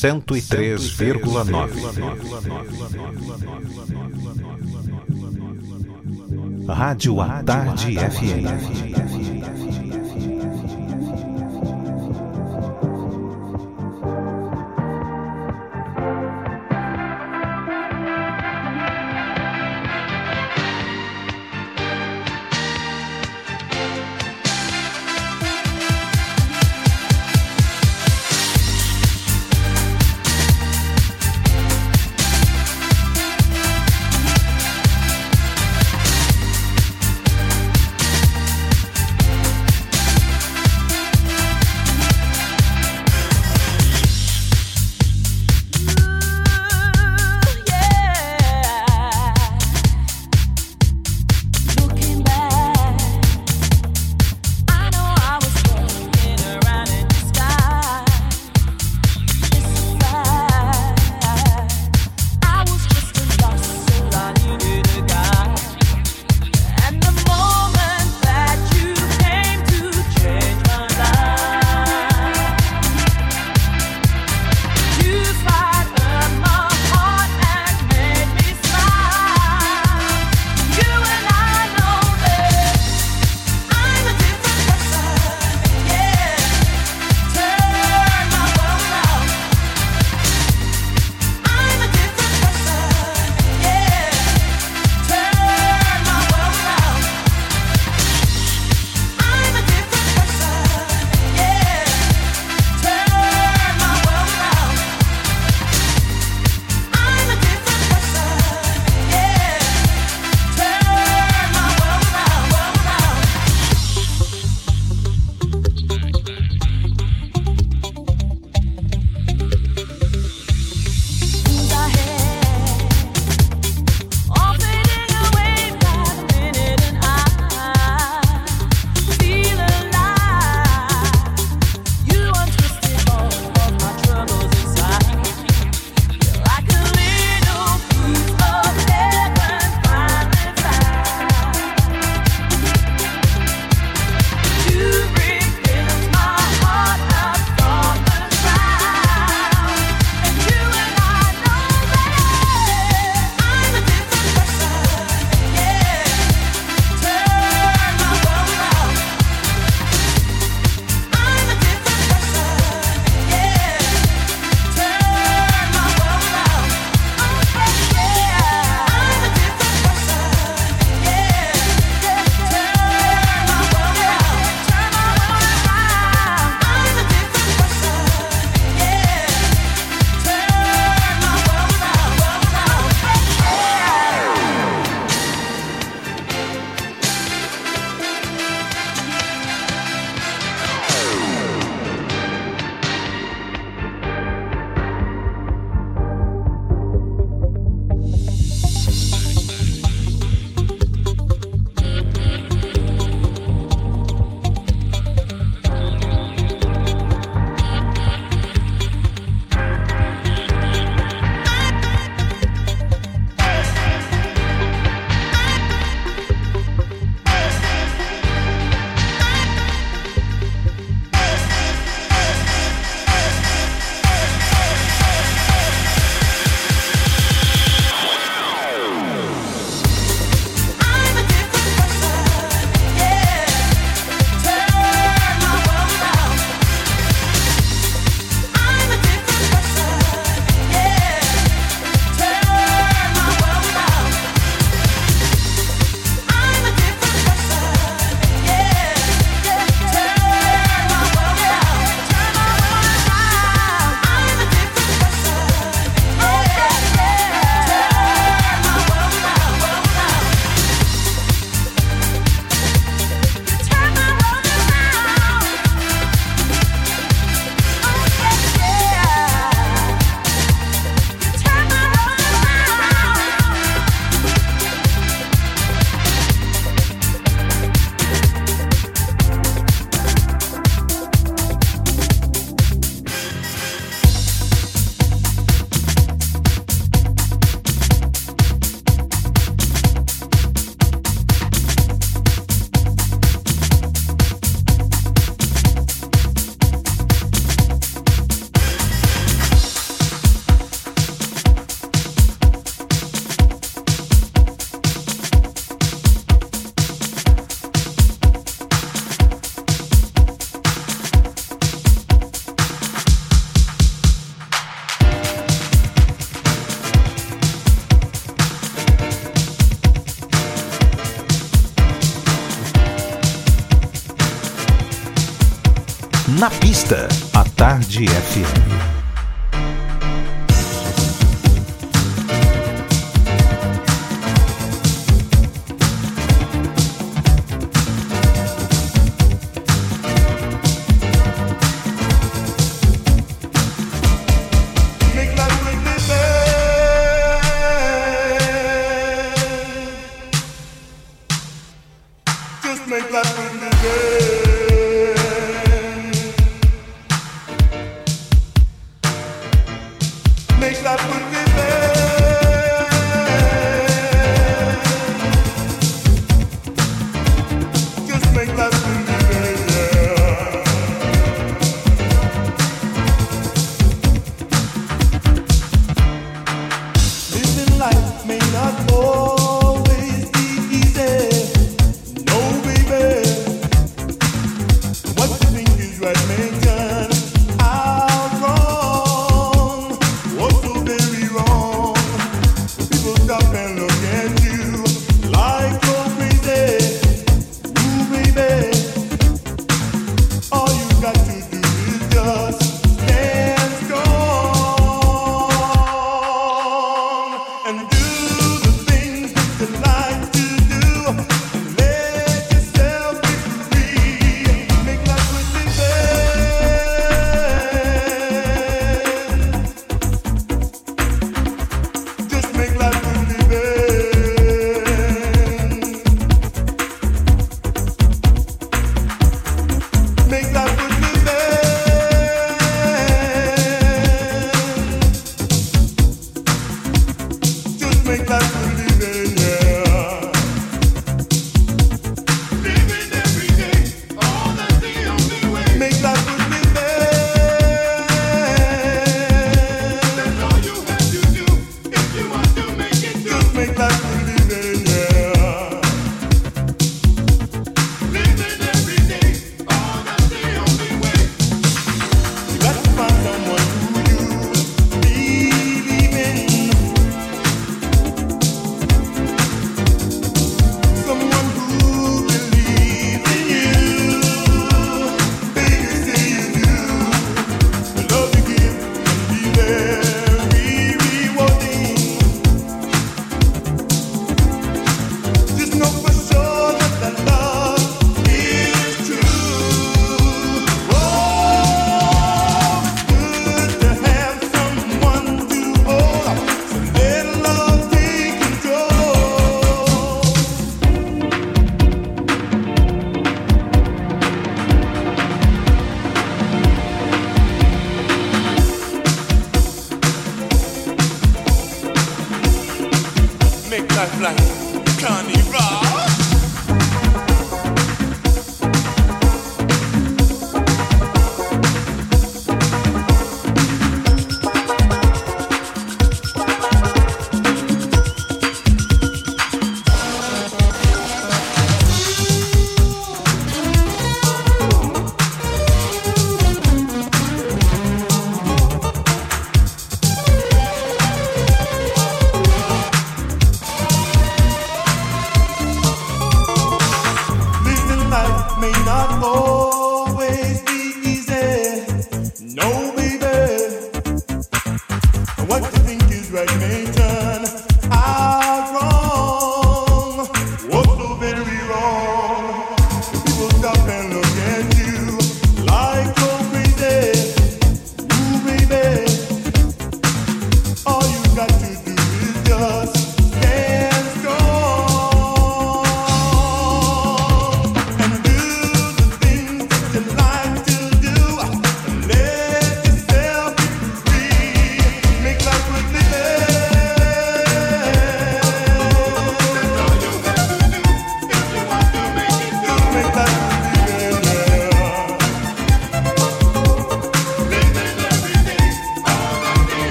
cento e três vírgula nove. Rádio à Tarde F M. Na pista, a Tarde F M.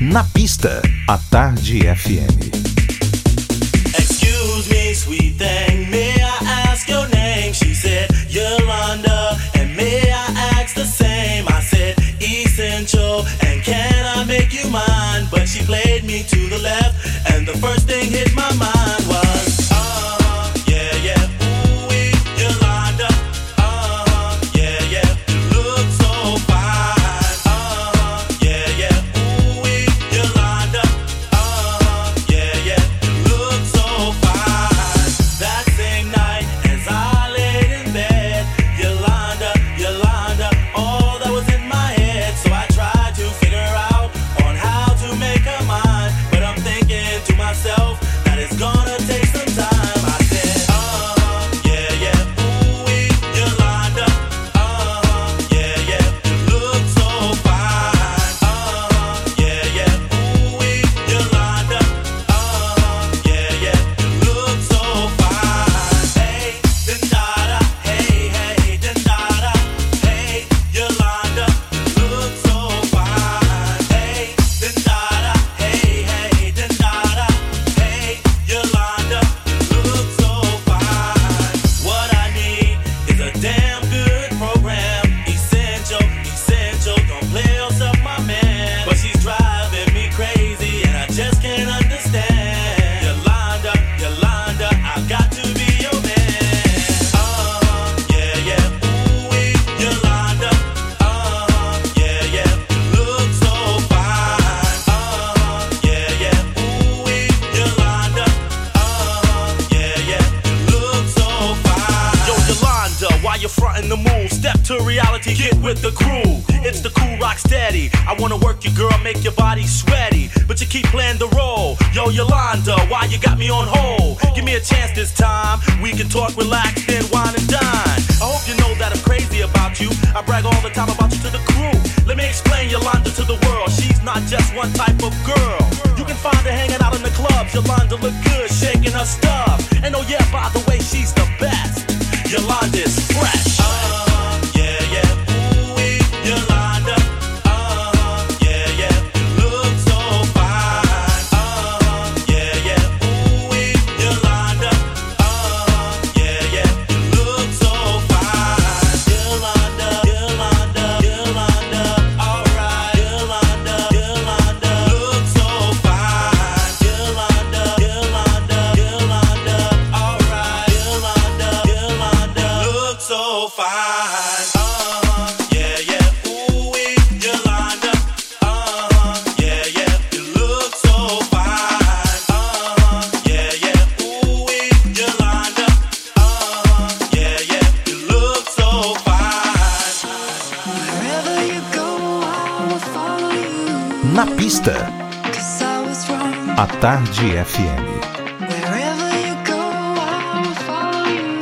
Na pista, a Tarde F M. Excuse me, sweet thing, may I ask your name? She said, Yolanda, and may I ask the same? I said, Essential, and can I make you mine? But she played me to the left, and the first thing hit my mind was, uh-huh, yeah, yeah, ooh-wee, Yolanda, uh-huh, yeah, yeah, you look so fine, uh-huh, yeah, yeah, ooh-wee, Yolanda, uh-huh, yeah, yeah, you look so fine. That same night, as I laid in bed, Yolanda, Yolanda, all that was in my head. So I tried to figure out on how to make her mine, but I'm thinking to myself that it's gonna take some time. I said, uh-huh, yeah, yeah, ooh-wee, Yolanda, uh-huh, yeah, yeah, you look so fine, uh-huh, yeah, yeah, ooh-wee, Yolanda, uh-huh, yeah, yeah, you look so fine. Hey, da-da-da, hey, hey, da-da-da, hey, Yolanda, you look so fine. Hey, da-da-da, hey, hey, da-da-da, hey, Yolanda, you look so fine. What I need is a damn good program. Essential, essential, don't play yourself, my man. But she's driving me crazy, and I just can't understand. Yolanda, Yolanda, I've got to be your man. Uh-huh, yeah, yeah, ooh-wee, Yolanda, uh-huh, yeah, yeah, you look so fine. Uh-huh, yeah, yeah, ooh-wee, Yolanda, uh-huh, yeah, yeah, you look so fine. Yo, Yolanda, why you frontin' the move? Step to reality, get with the crew. It's the cool rock steady. I wanna work you, girl, make your body sweaty, but you keep playing the role. Yo, Yolanda, why you got me on hold? Give me a chance this time. We can talk, relax, then wine and dine. I hope you know that I'm crazy about you. I brag all the time about you to the crew. Let me explain Yolanda to the world. She's not just one type of girl. You can find her hanging out in the clubs. Yolanda look good, shaking her stuff. And oh yeah, by the way, she's the best. Yolanda's fresh. Uh, yeah, yeah, ooh-wee, Yolanda. Uh, yeah, yeah, you look so fine. Uh, yeah, yeah, ooh-wee, Yolanda. Uh, yeah, yeah, you look so fine. Yolanda, Yolanda, Yolanda. Alright, Yolanda, Yolanda, look so fine. Yolanda, Yolanda, Yolanda. Alright, Yolanda, Yolanda, look so fine. Uh-huh, yeah, yeah, ooh-wee, Yolanda. Uh-huh, yeah, yeah, you look so fine. Uh-huh, yeah, yeah, ooh-wee, Yolanda. Uh-huh, yeah, yeah, you look so fine. Wherever you go, I will follow you. Na pista, 'Cause I was wrong. a Tarde F M. Wherever you go, I will follow you.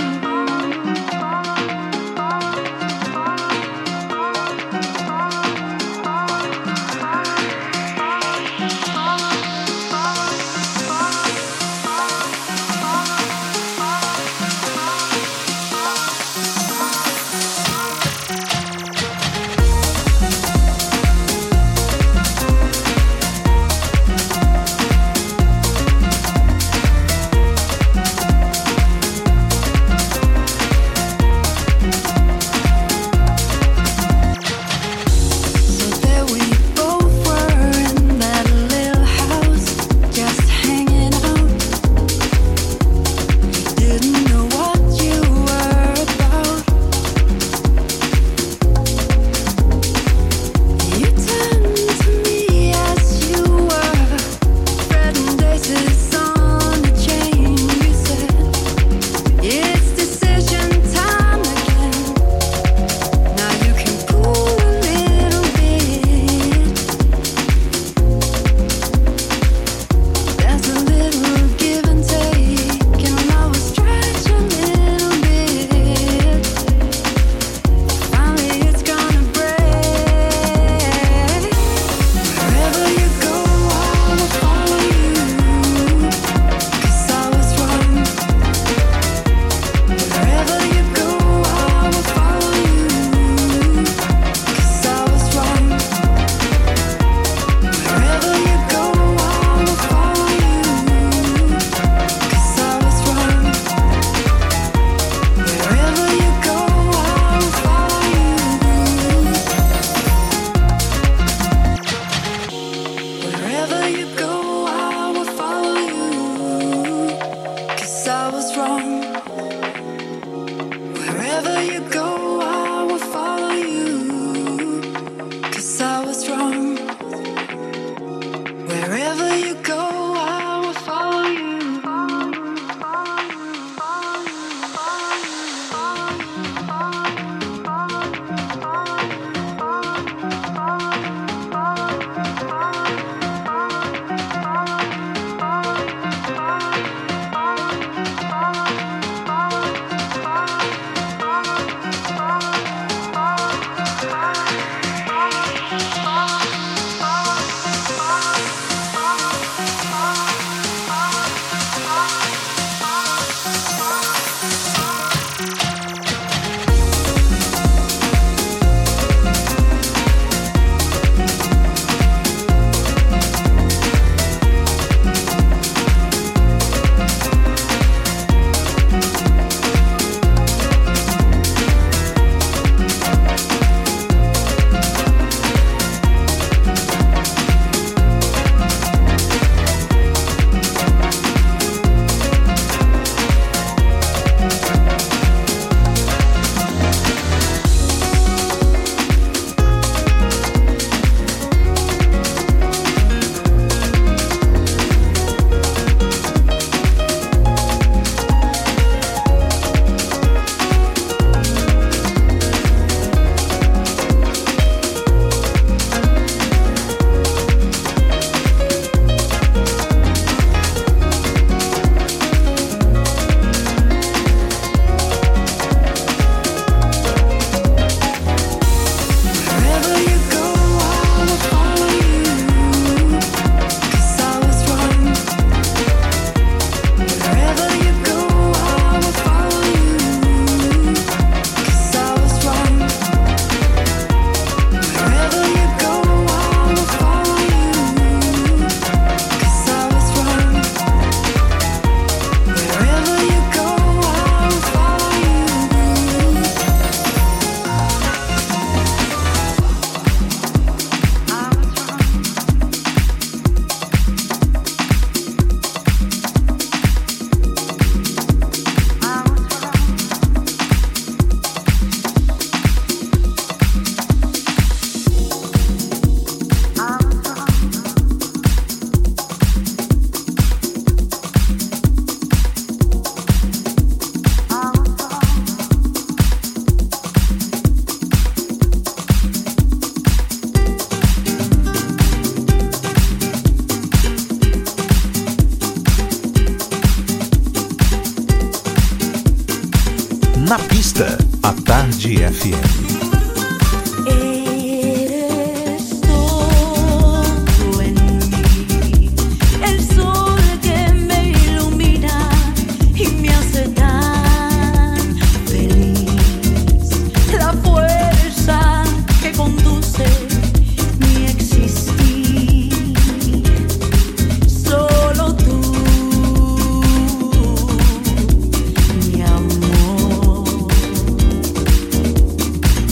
you go, I will follow you. Na pista, a Tarde F M. Eres todo en mí, el sol que me ilumina y me hace tan feliz, la fuerza que conduce mi existir, solo tú, mi amor.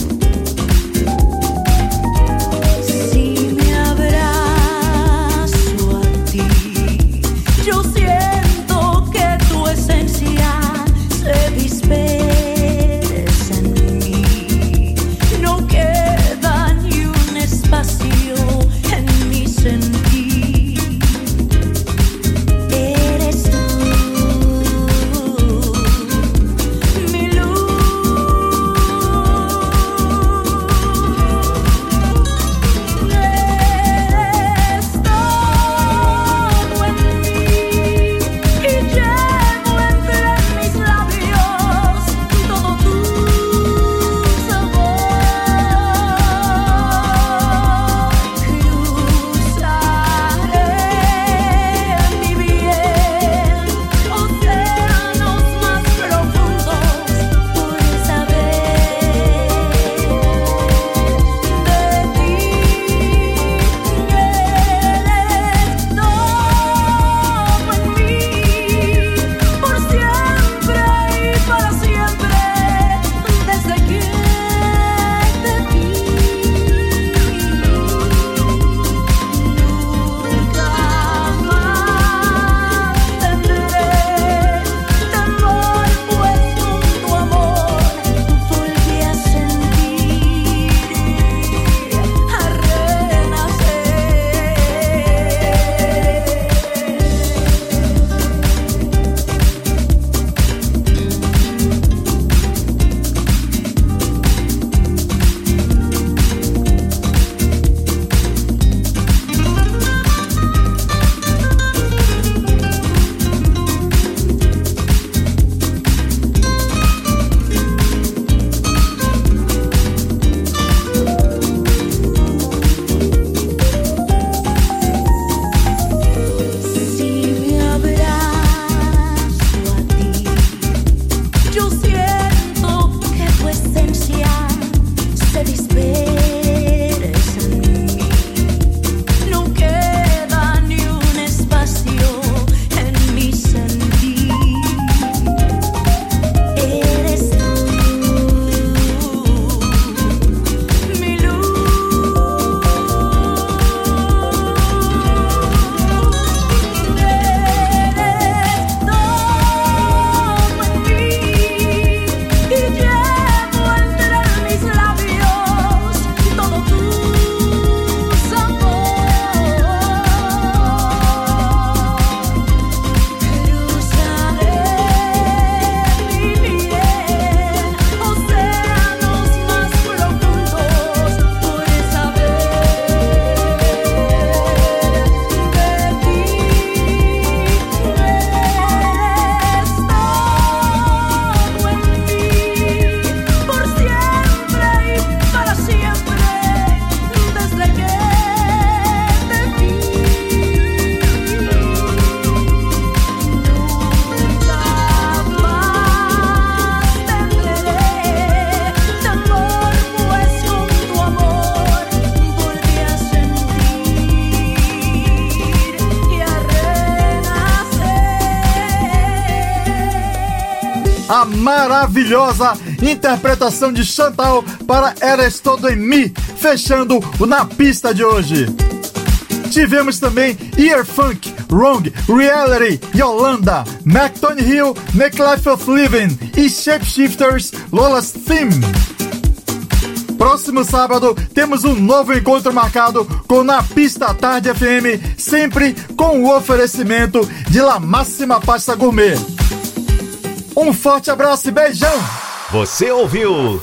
a maravilhosa interpretação de Chantal para Eres Todo em Mi, fechando o Na Pista de hoje. Tivemos também Ear Funk, Wrong, Reality, Yolanda, McTony Hill, Make Life of Living e Shapeshifters, Lola's Theme. Próximo sábado temos um novo encontro marcado com Na Pista Tarde F M, sempre com o oferecimento de La Máxima Pasta Gourmet. Um forte abraço e beijão! Você ouviu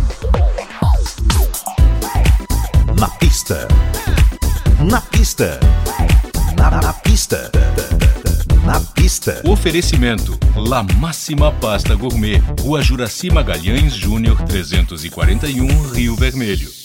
Na Pista. Na Pista. Na, na Pista. Na Pista. Oferecimento La Máxima Pasta Gourmet, Rua Juraci Magalhães Júnior trezentos e quarenta e um, Rio Vermelho.